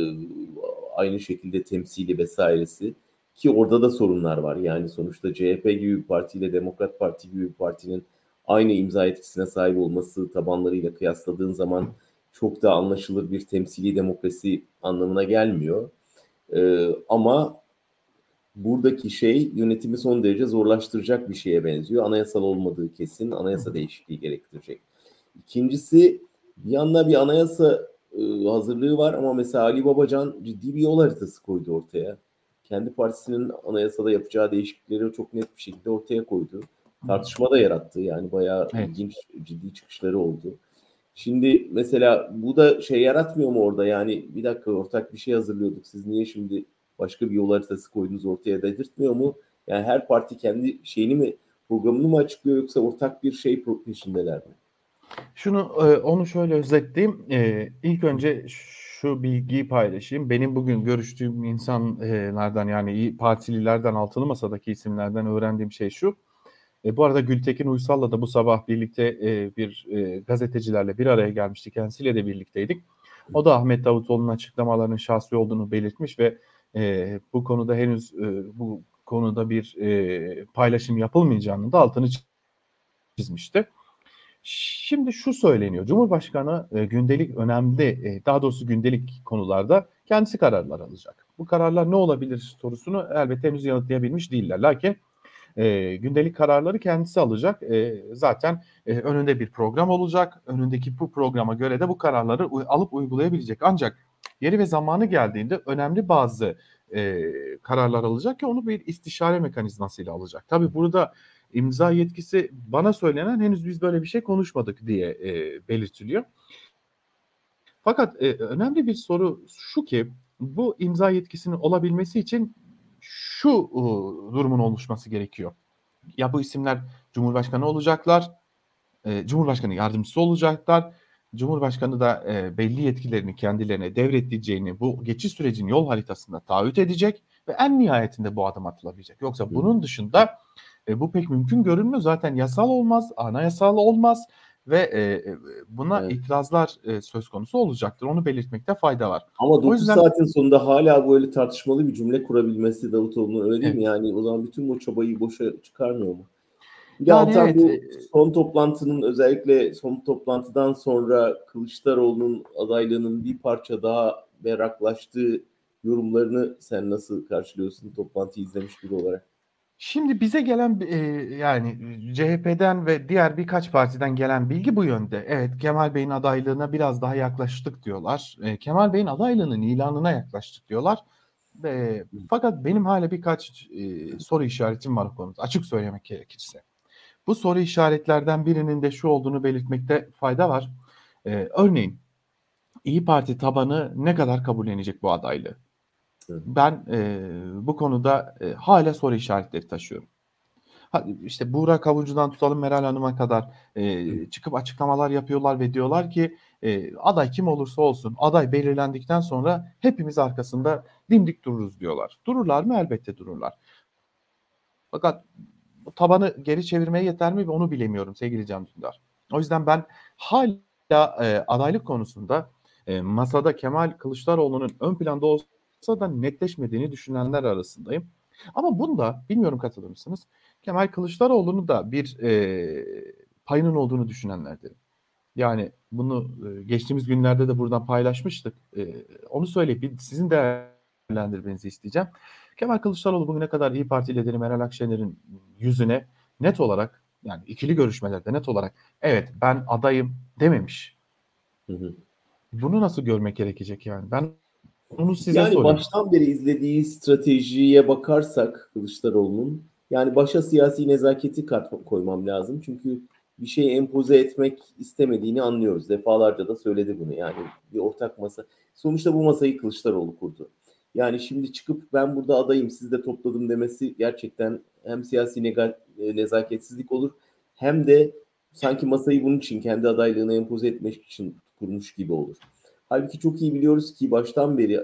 aynı şekilde temsili vesairesi ki orada da sorunlar var. Yani sonuçta CHP gibi bir partiyle Demokrat Parti gibi bir partinin aynı imza etkisine sahip olması tabanlarıyla kıyasladığın zaman çok da anlaşılır bir temsili demokrasi anlamına gelmiyor. Ama buradaki şey yönetimi son derece zorlaştıracak bir şeye benziyor. Anayasal olmadığı kesin,
Hı
anayasa
hı.
değişikliği gerektirecek. İkincisi bir yanda bir anayasa hazırlığı var ama mesela Ali Babacan ciddi bir yol haritası koydu ortaya. Kendi partisinin anayasada yapacağı değişiklikleri çok net bir şekilde ortaya koydu.
Hı hı.
Tartışma da yarattı. Yani bayağı
Evet.
ilginç, ciddi çıkışları oldu. Şimdi mesela bu da şey yaratmıyor mu orada? Yani bir dakika ortak bir şey hazırlıyorduk. Siz niye şimdi başka bir yol haritası koydunuz ortaya dedirtmiyor mu? Yani her parti kendi şeyini mi programını mı açıklıyor yoksa ortak bir şey peşindeler mi?
Onu şöyle özetleyeyim. İlk önce şu bilgiyi paylaşayım. Benim bugün görüştüğüm insanlardan yani İYİ Partililerden, altılı masadaki isimlerden öğrendiğim şey şu. Bu arada Gültekin Uysal'la da bu sabah birlikte gazetecilerle bir araya gelmiştik. Kendisiyle de birlikteydik. O da Ahmet Davutoğlu'nun açıklamalarının şahsi olduğunu belirtmiş ve bu konuda henüz bu konuda bir paylaşım yapılmayacağını da altını çizmişti. Şimdi şu söyleniyor. Cumhurbaşkanı gündelik önemli, daha doğrusu gündelik konularda kendisi kararlar alacak. Bu kararlar ne olabilir sorusunu elbette henüz yanıtlayabilmiş değiller. Lakin gündelik kararları kendisi alacak. Zaten önünde bir program olacak. Önündeki bu programa göre de bu kararları alıp uygulayabilecek. Ancak yeri ve zamanı geldiğinde önemli bazı kararlar alacak ki onu bir istişare mekanizmasıyla alacak. Tabii burada imza yetkisi bana söylenen henüz biz böyle bir şey konuşmadık diye belirtiliyor. Fakat önemli bir soru şu ki bu imza yetkisinin olabilmesi için şu durumun oluşması gerekiyor. Ya bu isimler Cumhurbaşkanı olacaklar, Cumhurbaşkanı yardımcısı olacaklar. Cumhurbaşkanı da belli yetkilerini kendilerine devredeceğini bu geçiş sürecinin yol haritasında taahhüt edecek ve en nihayetinde bu adım atılabilecek. Yoksa bunun dışında bu pek mümkün görünmüyor. Zaten yasal olmaz, anayasal olmaz ve buna
Evet.
itirazlar söz konusu olacaktır. Onu belirtmekte fayda var.
Ama
O
9
yüzden
saatin sonunda hala böyle tartışmalı bir cümle kurabilmesi Davutoğlu'nun öyle değil mi?
evet.
Yani o zaman bütün bu çabayı boşa çıkarmıyor mu? Bir de
Yani
Altan
evet.
bu son toplantının özellikle son toplantıdan sonra Kılıçdaroğlu'nun adaylığının bir parça daha berraklaştığı yorumlarını sen nasıl karşılıyorsun toplantıyı izlemiş biri olarak?
Şimdi bize gelen yani CHP'den ve diğer birkaç partiden gelen bilgi bu yönde. Evet, Kemal Bey'in adaylığına biraz daha yaklaştık diyorlar. Kemal Bey'in adaylığının ilanına yaklaştık diyorlar. Fakat benim hala birkaç soru işaretim var o konuda. Açık söylemek gerekirse. Bu soru işaretlerden birinin de şu olduğunu belirtmekte fayda var. Örneğin İyi Parti tabanı ne kadar kabullenecek bu adaylığı?
Hı.
Ben bu konuda hala soru işaretleri taşıyorum. İşte Buğra Kavuncu'dan tutalım Meral Hanım'a kadar çıkıp açıklamalar yapıyorlar ve diyorlar ki aday kim olursa olsun aday belirlendikten sonra hepimiz arkasında dimdik dururuz diyorlar. Dururlar mı? Elbette dururlar. Fakat bu tabanı geri çevirmeye yeter mi onu bilemiyorum sevgili Can Dündar. O yüzden ben hala adaylık konusunda masada Kemal Kılıçdaroğlu'nun ön planda olsa da netleşmediğini düşünenler arasındayım. Ama bunda bilmiyorum katılır mısınız? Kemal Kılıçdaroğlu'nun da bir payının olduğunu düşünenlerdenim. Yani bunu geçtiğimiz günlerde de buradan paylaşmıştık. Onu söyleyip sizin değerlendirmenizi isteyeceğim. Kemal Kılıçdaroğlu bugüne kadar İyi Parti lideri Meral Akşener'in yüzüne net olarak yani ikili görüşmelerde net olarak evet ben adayım dememiş.
Hı hı.
Bunu nasıl görmek gerekecek yani? Ben onu size
Yani
soruyorum.
baştan beri izlediği stratejiye bakarsak Kılıçdaroğlu'nun yani başa siyasi nezaketi koymam lazım. Çünkü bir şeyi empoze etmek istemediğini anlıyoruz. Defalarca da söyledi bunu. Yani bir ortak masa. Sonuçta bu masayı Kılıçdaroğlu kurdu. Yani şimdi çıkıp ben burada adayım sizi de topladım demesi gerçekten hem siyasi nezaketsizlik olur hem de sanki masayı bunun için kendi adaylığını empoze etmek için kurmuş gibi olur. Halbuki çok iyi biliyoruz ki baştan beri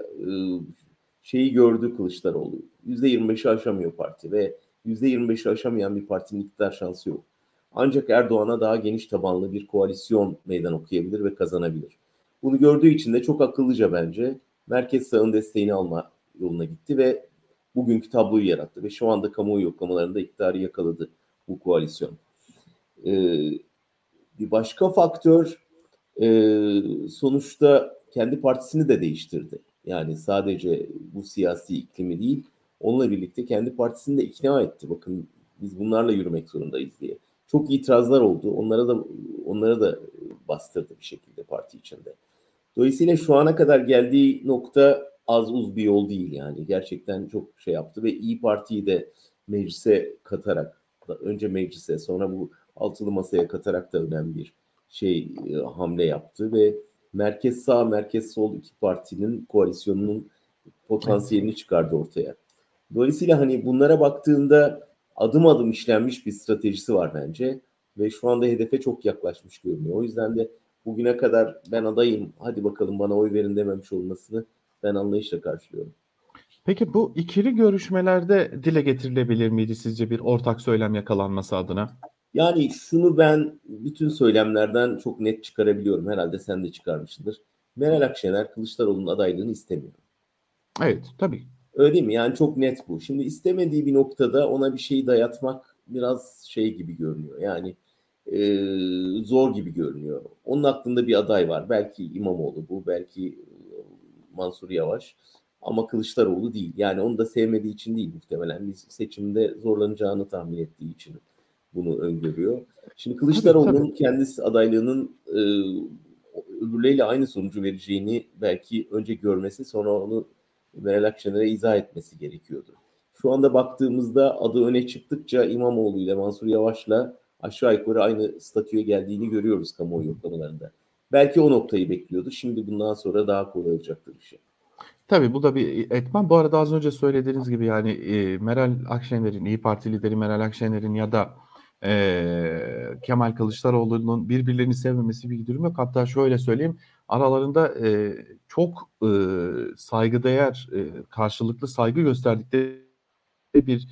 şeyi gördü Kılıçdaroğlu. %25'i aşamıyor parti ve %25'i aşamayan bir partinin iktidar şansı yok. Ancak Erdoğan'a daha geniş tabanlı bir koalisyon meydan okuyabilir ve kazanabilir. Bunu gördüğü için de çok akıllıca bence merkez sağın desteğini alma yoluna gitti ve bugünkü tabloyu yarattı ve şu anda kamuoyu yoklamalarında iktidarı yakaladı bu koalisyon. Ee, Bir başka faktör sonuçta kendi partisini de değiştirdi. Yani sadece bu siyasi iklimi değil, onunla birlikte kendi partisini de ikna etti. Bakın biz bunlarla yürümek zorundayız diye. Çok itirazlar oldu. Onlara da bastırdı bir şekilde parti içinde. Dolayısıyla şu ana kadar geldiği nokta az uz bir yol değil yani. Gerçekten çok şey yaptı ve İyi Parti'yi de meclise katarak, önce meclise sonra bu altılı masaya katarak da önemli bir hamle yaptı ve merkez sağ, merkez sol iki partinin koalisyonunun
Evet.
potansiyelini çıkardı ortaya. Dolayısıyla hani bunlara baktığında adım adım işlenmiş bir stratejisi var bence ve şu anda hedefe çok yaklaşmış görünüyor. O yüzden de bugüne kadar ben adayım, hadi bakalım bana oy verin dememiş olmasını ben anlayışla karşılıyorum.
Peki bu ikili görüşmelerde dile getirilebilir miydi sizce bir ortak söylem yakalanması adına?
Yani şunu ben bütün söylemlerden çok net çıkarabiliyorum. Herhalde sen de çıkarmışsındır. Meral Akşener Kılıçdaroğlu'nun adaylığını istemiyor.
Evet, tabii.
Öyle değil mi? Yani çok net bu. Şimdi istemediği bir noktada ona bir şeyi dayatmak biraz şey gibi görünüyor. Yani zor gibi görünüyor. Onun aklında bir aday var. Belki İmamoğlu bu, belki Mansur Yavaş. Ama Kılıçdaroğlu değil. Yani onu da sevmediği için değil muhtemelen. Bir seçimde zorlanacağını tahmin ettiği için bunu öngörüyor. Şimdi
Tabii tabii.
Kılıçdaroğlu'nun kendisi adaylığının öbürleriyle aynı sonucu vereceğini belki önce görmesi, sonra onu Meral Akşener'e izah etmesi gerekiyordu. Şu anda baktığımızda adı öne çıktıkça İmamoğlu ile Mansur Yavaş'la aşağı yukarı aynı statüye geldiğini görüyoruz kamuoyu yoklamalarında. Belki o noktayı bekliyordu. Şimdi bundan sonra daha kolay olacaktır işi.
Tabii bu da bir etmen. Bu arada az önce söylediğiniz gibi yani Meral Akşener'in, İyi Parti lideri Meral Akşener'in ya da Kemal Kılıçdaroğlu'nun birbirlerini sevmemesi bir durum yok. Hatta şöyle söyleyeyim, aralarında çok saygıdeğer, karşılıklı saygı gösterdikleri bir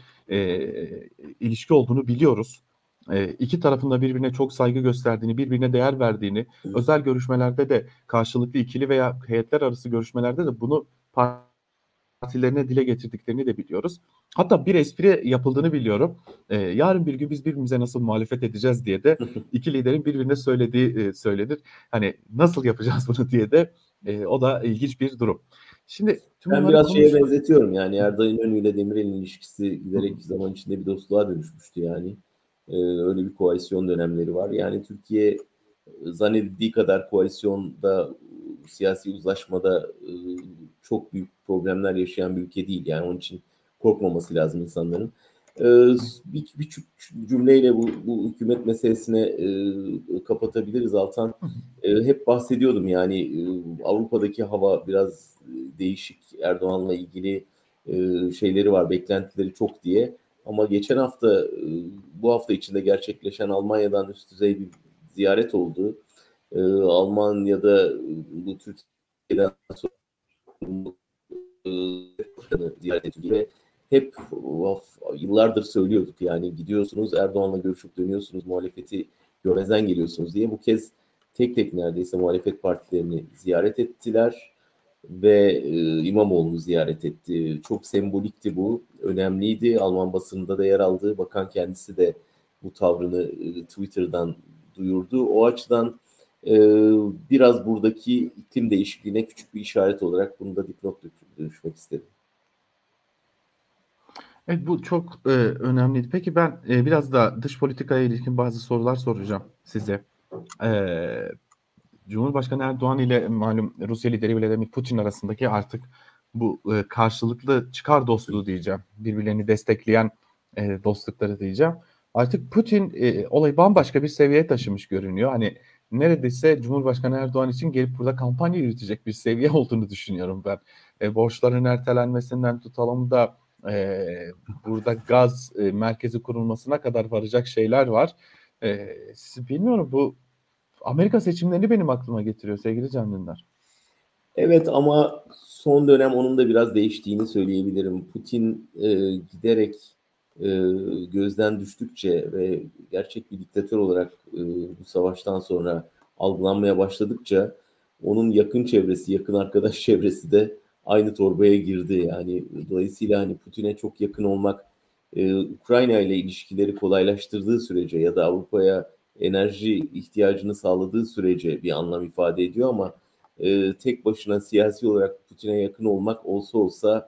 ilişki olduğunu biliyoruz. İki tarafın da birbirine çok saygı gösterdiğini, birbirine değer verdiğini, özel görüşmelerde de karşılıklı ikili veya heyetler arası görüşmelerde de bunu partilerine dile getirdiklerini de biliyoruz. Hatta bir espri yapıldığını biliyorum. Yarın bir gün biz birbirimize nasıl muhalefet edeceğiz diye de iki liderin birbirine söylediği söylenir. Hani nasıl yapacağız bunu diye de o da ilginç bir durum. Şimdi tüm
Ben
bunları
biraz şeye
konuştuk.
benzetiyorum yani Erdal İnönü ile Demirel'in ilişkisi giderek zaman içinde bir dostluğa dönüşmüştü yani. Öyle bir koalisyon dönemleri var. Yani Türkiye zannedildiği kadar koalisyonda, siyasi uzlaşmada çok büyük problemler yaşayan bir ülke değil. Yani onun için korkmaması lazım insanların. Bir cümleyle bu hükümet meselesine kapatabiliriz Altan. Hep bahsediyordum yani Avrupa'daki hava biraz değişik. Erdoğan'la ilgili şeyleri var, beklentileri çok diye. Ama geçen hafta, bu hafta içinde gerçekleşen Almanya'dan üst düzey bir ziyaret oldu. Almanya'da bu Türkiye'den sonra ziyaret edildi ve hep yıllardır söylüyorduk yani gidiyorsunuz Erdoğan'la görüşüp dönüyorsunuz, muhalefeti görmezden geliyorsunuz diye. Bu kez tek tek neredeyse muhalefet partilerini ziyaret ettiler ve İmamoğlu'nu ziyaret etti. Çok sembolikti bu, önemliydi. Alman basınında da yer aldı. Bakan kendisi de bu tavrını Twitter'dan duyurdu. O açıdan e, biraz buradaki iklim değişikliğine küçük bir işaret olarak bunu da dipnot düşmek istedim.
Evet, bu çok önemliydi. Peki ben biraz da dış politikaya ilişkin bazı sorular soracağım size. E, Cumhurbaşkanı Erdoğan ile malum Rusya lideri Vladimir Putin arasındaki artık bu karşılıklı çıkar dostluğu diyeceğim. Birbirlerini destekleyen dostlukları diyeceğim. Artık Putin olayı bambaşka bir seviyeye taşımış görünüyor. Hani neredeyse Cumhurbaşkanı Erdoğan için gelip burada kampanya yürütecek bir seviye olduğunu düşünüyorum ben. Borçların ertelenmesinden tutalım da e, burada gaz merkezi kurulmasına kadar varacak şeyler var. Bilmiyorum, bu Amerika seçimlerini benim aklıma getiriyor sevgili Can Dündar.
Evet ama son dönem onun da biraz değiştiğini söyleyebilirim. Putin giderek e, gözden düştükçe ve gerçek bir diktatör olarak bu savaştan sonra algılanmaya başladıkça onun yakın çevresi, yakın arkadaş çevresi de aynı torbaya girdi. Yani dolayısıyla hani Putin'e çok yakın olmak Ukrayna ile ilişkileri kolaylaştırdığı sürece ya da Avrupa'ya enerji ihtiyacını sağladığı sürece bir anlam ifade ediyor ama tek başına siyasi olarak Putin'e yakın olmak olsa olsa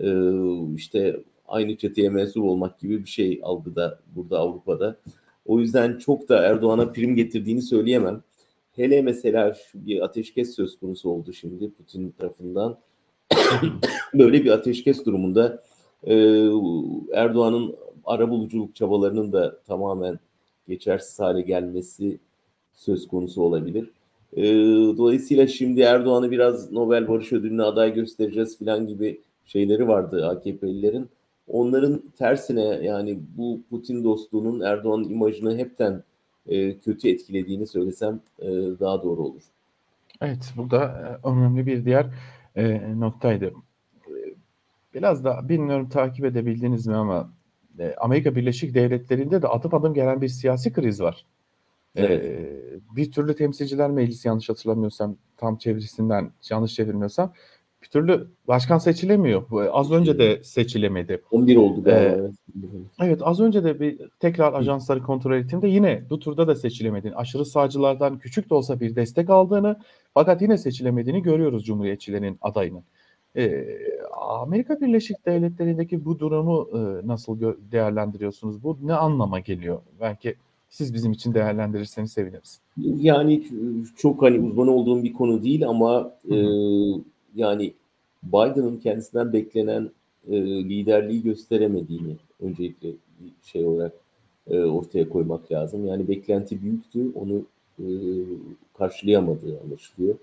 işte aynı çeteye mensup olmak gibi bir şey algıda burada Avrupa'da. O yüzden çok da Erdoğan'a prim getirdiğini söyleyemem. Hele mesela bir ateşkes söz konusu oldu şimdi Putin tarafından. Böyle bir ateşkes durumunda e, Erdoğan'ın arabuluculuk çabalarının da tamamen geçersiz hale gelmesi söz konusu olabilir. Dolayısıyla şimdi Erdoğan'ı biraz Nobel Barış Ödülü'ne aday göstereceğiz falan gibi şeyleri vardı AKP'lilerin. Onların tersine yani bu Putin dostluğunun Erdoğan'ın imajını hepten kötü etkilediğini söylesem daha doğru olur.
Evet, bu da önemli bir diğer noktaydı. E, Biraz da bilmiyorum takip edebildiniz mi ama Amerika Birleşik Devletleri'nde de adım adım gelen bir siyasi kriz var.
Evet.
Bir türlü Temsilciler Meclisi, yanlış hatırlamıyorsam, tam çevirisinden yanlış çevirmiyorsam, bir türlü başkan seçilemiyor. Az önce
Seçilemiyor.
de seçilemedi.
11 oldu galiba.
Ee,
Evet.
evet, az önce de bir tekrar
Hı.
ajansları kontrol ettiğimde yine bu turda da seçilemediğini, aşırı sağcılardan küçük de olsa bir destek aldığını fakat yine seçilemediğini görüyoruz Cumhuriyetçilerin adayının. Ee, Amerika Birleşik Devletleri'ndeki bu durumu nasıl değerlendiriyorsunuz? Bu ne anlama geliyor? Belki siz bizim için değerlendirirseniz seviniriz.
Yani çok hani uzman olduğum bir konu değil ama
Hı hı.
yani Biden'ın kendisinden beklenen liderliği gösteremediğini öncelikle bir şey olarak ortaya koymak lazım. Yani beklenti büyüktü, onu e, karşılayamadığı anlaşılıyor.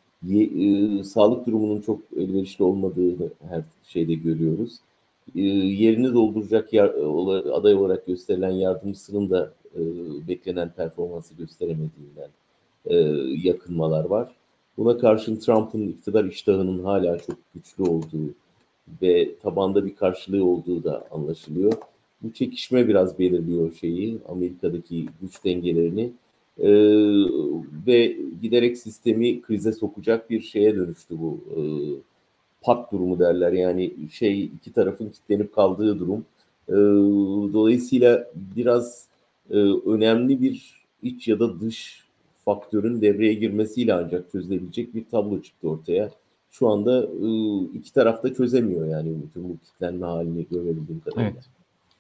Sağlık durumunun çok elverişli olmadığını her şeyde görüyoruz. Yerini dolduracak aday olarak gösterilen yardımcısının da beklenen performansı gösteremediğinden e, yakınmalar var. Buna karşın Trump'ın iktidar iştahının hala çok güçlü olduğu ve tabanda bir karşılığı olduğu da anlaşılıyor. Bu çekişme biraz belirliyor şeyi, Amerika'daki güç dengelerini. Ee, ve giderek sistemi krize sokacak bir şeye dönüştü bu. Pat durumu derler, yani şey, iki tarafın kilitlenip kaldığı durum. Ee, dolayısıyla biraz önemli bir iç ya da dış faktörün devreye girmesiyle ancak çözülebilecek bir tablo çıktı ortaya. Şu anda iki taraf da çözemiyor yani bütün bu kilitlenme halini görebildiğim kadarıyla.
Evet.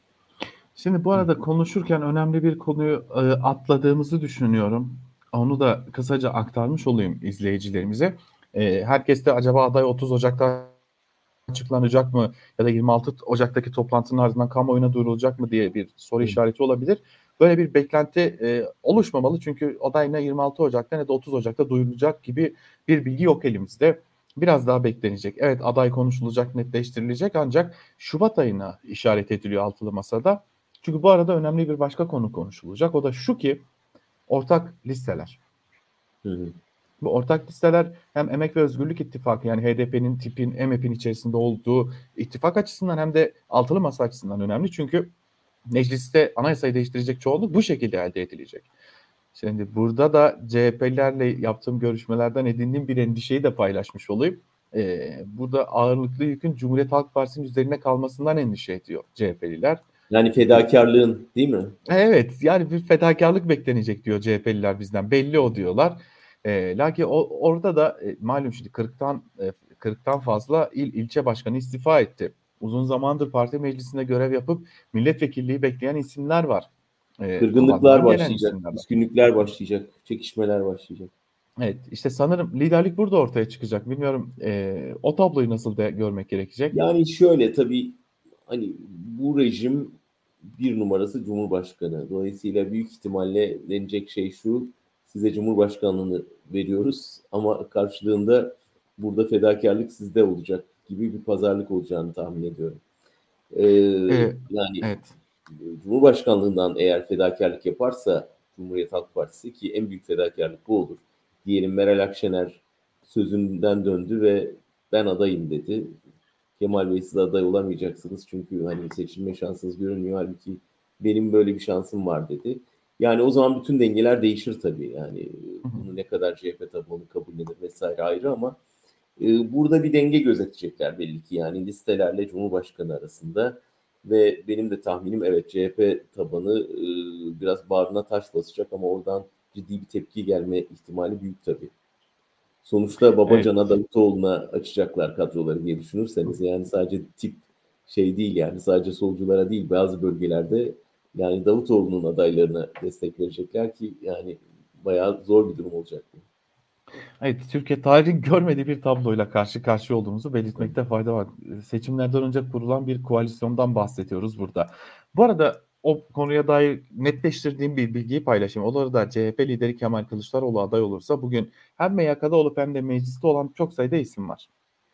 Şimdi bu arada konuşurken önemli bir konuyu atladığımızı düşünüyorum. Onu da kısaca aktarmış olayım izleyicilerimize. Herkes de acaba aday 30 Ocak'ta açıklanacak mı ya da 26 Ocak'taki toplantının ardından kamuoyuna duyurulacak mı diye bir soru
Hı.
işareti olabilir. Böyle bir beklenti oluşmamalı çünkü aday ne 26 Ocak'ta ne de 30 Ocak'ta duyurulacak gibi bir bilgi yok elimizde. Biraz daha beklenecek. Evet, aday konuşulacak, netleştirilecek ancak Şubat ayına işaret ediliyor altılı masada. Çünkü bu arada önemli bir başka konu konuşulacak. O da şu ki ortak listeler.
Hı hı.
Bu ortak listeler hem Emek ve Özgürlük İttifakı yani HDP'nin, TİP'in, MHP'nin içerisinde olduğu ittifak açısından hem de altılı masa açısından önemli. Çünkü mecliste anayasayı değiştirecek çoğunluk bu şekilde elde edilecek. Şimdi burada da CHP'lilerle yaptığım görüşmelerden edindiğim bir endişeyi de paylaşmış olayım. Burada ağırlıklı yükün Cumhuriyet Halk Partisi'nin üzerine kalmasından endişe ediyor CHP'liler.
Yani
Çünkü
fedakarlığın, değil mi?
evet, yani bir fedakarlık beklenecek diyor CHP'liler bizden. Belli o diyorlar. Lakin orada da malum şimdi 40'tan fazla ilçe başkanı istifa etti. Uzun zamandır parti meclisinde görev yapıp milletvekilliği bekleyen isimler var.
Kırgınlıklar
Tabandan gelen
başlayacak,
isimler var.
küskünlükler başlayacak, çekişmeler başlayacak.
Evet, işte sanırım liderlik burada ortaya çıkacak. Bilmiyorum, o tabloyu nasıl görmek gerekecek?
Yani şöyle, tabii hani bu rejim bir numarası Cumhurbaşkanı. Dolayısıyla büyük ihtimalle denecek şey şu: size Cumhurbaşkanlığını veriyoruz ama karşılığında burada fedakarlık sizde olacak gibi bir pazarlık olacağını tahmin ediyorum. Ee,
E,
yani
evet.
Cumhurbaşkanlığından eğer fedakarlık yaparsa Cumhuriyet Halk Partisi, ki en büyük fedakarlık bu olur. Diyelim Meral Akşener sözünden döndü ve ben adayım dedi. Kemal Bey, siz aday olamayacaksınız çünkü hani seçilme şansınız görünmüyor. Halbuki benim böyle bir şansım var dedi. Yani o zaman bütün dengeler değişir tabii. Yani
Hı hı.
bunu ne kadar CHP tabii onu kabullenir vesaire ayrı ama burada bir denge gözetecekler belli ki, yani listelerle Cumhurbaşkanı arasında. Ve benim de tahminim, evet, CHP tabanı biraz bağrına taş basacak ama oradan ciddi bir tepki gelme ihtimali büyük tabii. Sonuçta
Evet.
Babacan'a, Davutoğlu'na açacaklar kadroları diye düşünürseniz, yani sadece tip şey değil, yani sadece solculara değil, bazı bölgelerde yani Davutoğlu'nun adaylarına destek verecekler ki yani bayağı zor bir durum olacak bu.
Evet, Türkiye tarihin görmediği bir tabloyla karşı karşıya olduğumuzu belirtmekte fayda var. Seçimlerden önce kurulan bir koalisyondan bahsediyoruz burada. Bu arada o konuya dair netleştirdiğim bir bilgiyi paylaşayım. Olur da CHP lideri Kemal Kılıçdaroğlu aday olursa bugün hem MYK'da olup hem de mecliste olan çok sayıda isim var.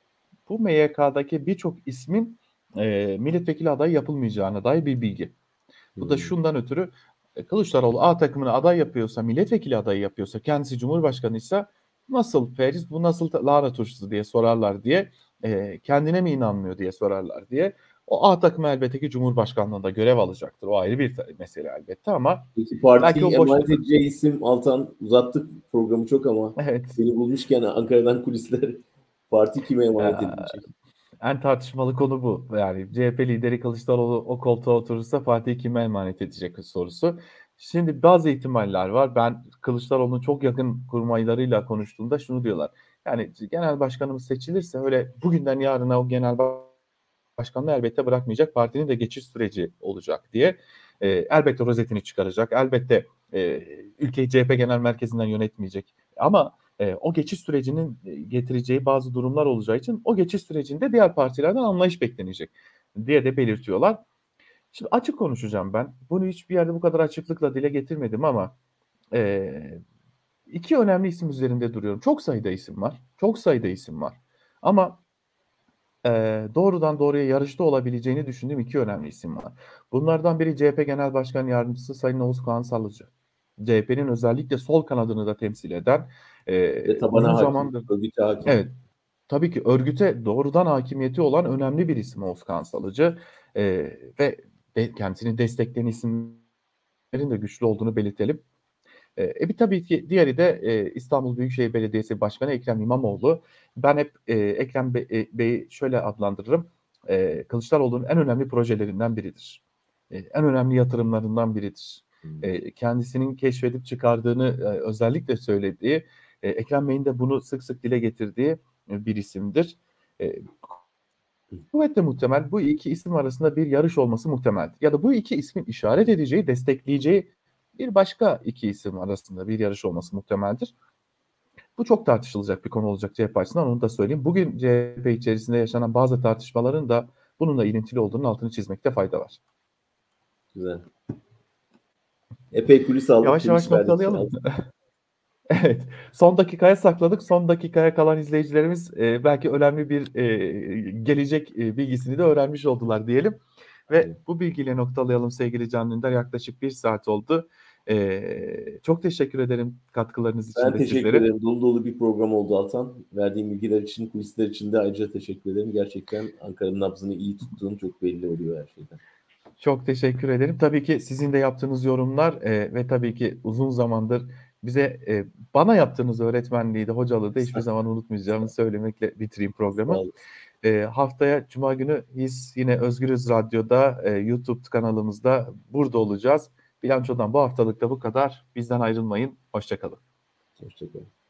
Bu MYK'daki birçok ismin milletvekili adayı yapılmayacağına dair bir bilgi. Bu da
Hmm.
şundan ötürü Kılıçdaroğlu A takımını aday yapıyorsa, milletvekili adayı yapıyorsa, kendisi cumhurbaşkanıysa nasıl Feriz bu nasıl lahana turşusu diye sorarlar diye, kendine mi inanmıyor diye sorarlar diye. O A takımı elbette ki cumhurbaşkanlığında görev alacaktır. O ayrı bir mesele elbette ama
Peki
belki
partiyi
o boş
emanet edeceği isim, Altan, uzattık programı çok ama
evet.
seni bulmuşken Ankara'dan kulisler. Parti kime emanet
Eee,
edilecek?
En tartışmalı konu bu. Yani CHP lideri Kılıçdaroğlu o koltuğa oturursa partiyi kime emanet edecek sorusu. Şimdi bazı ihtimaller var. Ben Kılıçdaroğlu'nun çok yakın kurmaylarıyla konuştuğumda şunu diyorlar. Yani genel başkanımız seçilirse öyle bugünden yarına o genel başkanlığı elbette bırakmayacak. Partinin de geçiş süreci olacak diye. Elbette rozetini çıkaracak. Elbette ülkeyi CHP genel merkezinden yönetmeyecek. Ama o geçiş sürecinin getireceği bazı durumlar olacağı için o geçiş sürecinde diğer partilerden anlayış beklenecek diye de belirtiyorlar. Şimdi açık konuşacağım ben. Bunu hiçbir yerde bu kadar açıklıkla dile getirmedim ama e, iki önemli isim üzerinde duruyorum. Çok sayıda isim var. Çok sayıda isim var. Ama doğrudan doğruya yarışta olabileceğini düşündüğüm iki önemli isim var. Bunlardan biri CHP Genel Başkan Yardımcısı Sayın Oğuzhan Sallıcı. CHP'nin özellikle sol kanadını da temsil eden
Ve
uzun
tabana hakim,
zamandır
örgüte hakim.
evet tabii ki örgüte doğrudan hakimiyeti olan önemli bir isim Oğuzhan Sallıcı ve kendisini destekleyen isimlerin de güçlü olduğunu belirtelim. Bir tabii ki diğeri de İstanbul Büyükşehir Belediyesi Başkanı Ekrem İmamoğlu. Ben hep Ekrem Bey'i şöyle adlandırırım. Kılıçdaroğlu'nun en önemli projelerinden biridir. En önemli yatırımlarından biridir. Kendisinin keşfedip çıkardığını özellikle söylediği, Ekrem Bey'in de bunu sık sık dile getirdiği bir isimdir. E, Kuvvetle muhtemel bu iki isim arasında bir yarış olması muhtemeldir. Ya da bu iki ismin işaret edeceği, destekleyeceği bir başka iki isim arasında bir yarış olması muhtemeldir. Bu çok tartışılacak bir konu olacak CHP açısından, onu da söyleyeyim. Bugün CHP içerisinde yaşanan bazı tartışmaların da bununla ilintili olduğunun altını çizmekte fayda var.
Güzel. Epey kulis aldık,
Yavaş yavaş
kulis verdik.
noktalayalım. Evet, son dakikaya sakladık. Son dakikaya kalan izleyicilerimiz belki önemli bir gelecek bilgisini de öğrenmiş oldular diyelim. Ve bu bilgiyle noktalayalım sevgili Can Dündar. Yaklaşık bir saat oldu. Çok teşekkür ederim katkılarınız için
Ben
de
teşekkür
sizlere.
ederim. Dolu dolu bir program oldu Altan. Verdiğim bilgiler için, kulisler için de ayrıca teşekkür ederim. Gerçekten Ankara'nın nabzını iyi tuttuğun çok belli oluyor her şeyden.
Çok teşekkür ederim. Tabii ki sizin de yaptığınız yorumlar ve tabii ki uzun zamandır bize bana yaptığınız öğretmenliği de hocalığı da hiçbir zaman unutmayacağımı söylemekle bitireyim
Sağ
programı.
olun.
Haftaya Cuma günü biz yine Özgürüz Radyo'da YouTube kanalımızda burada olacağız. Bilançodan bu haftalık da bu kadar. Bizden ayrılmayın. Hoşça kalın.
Hoşçakalın.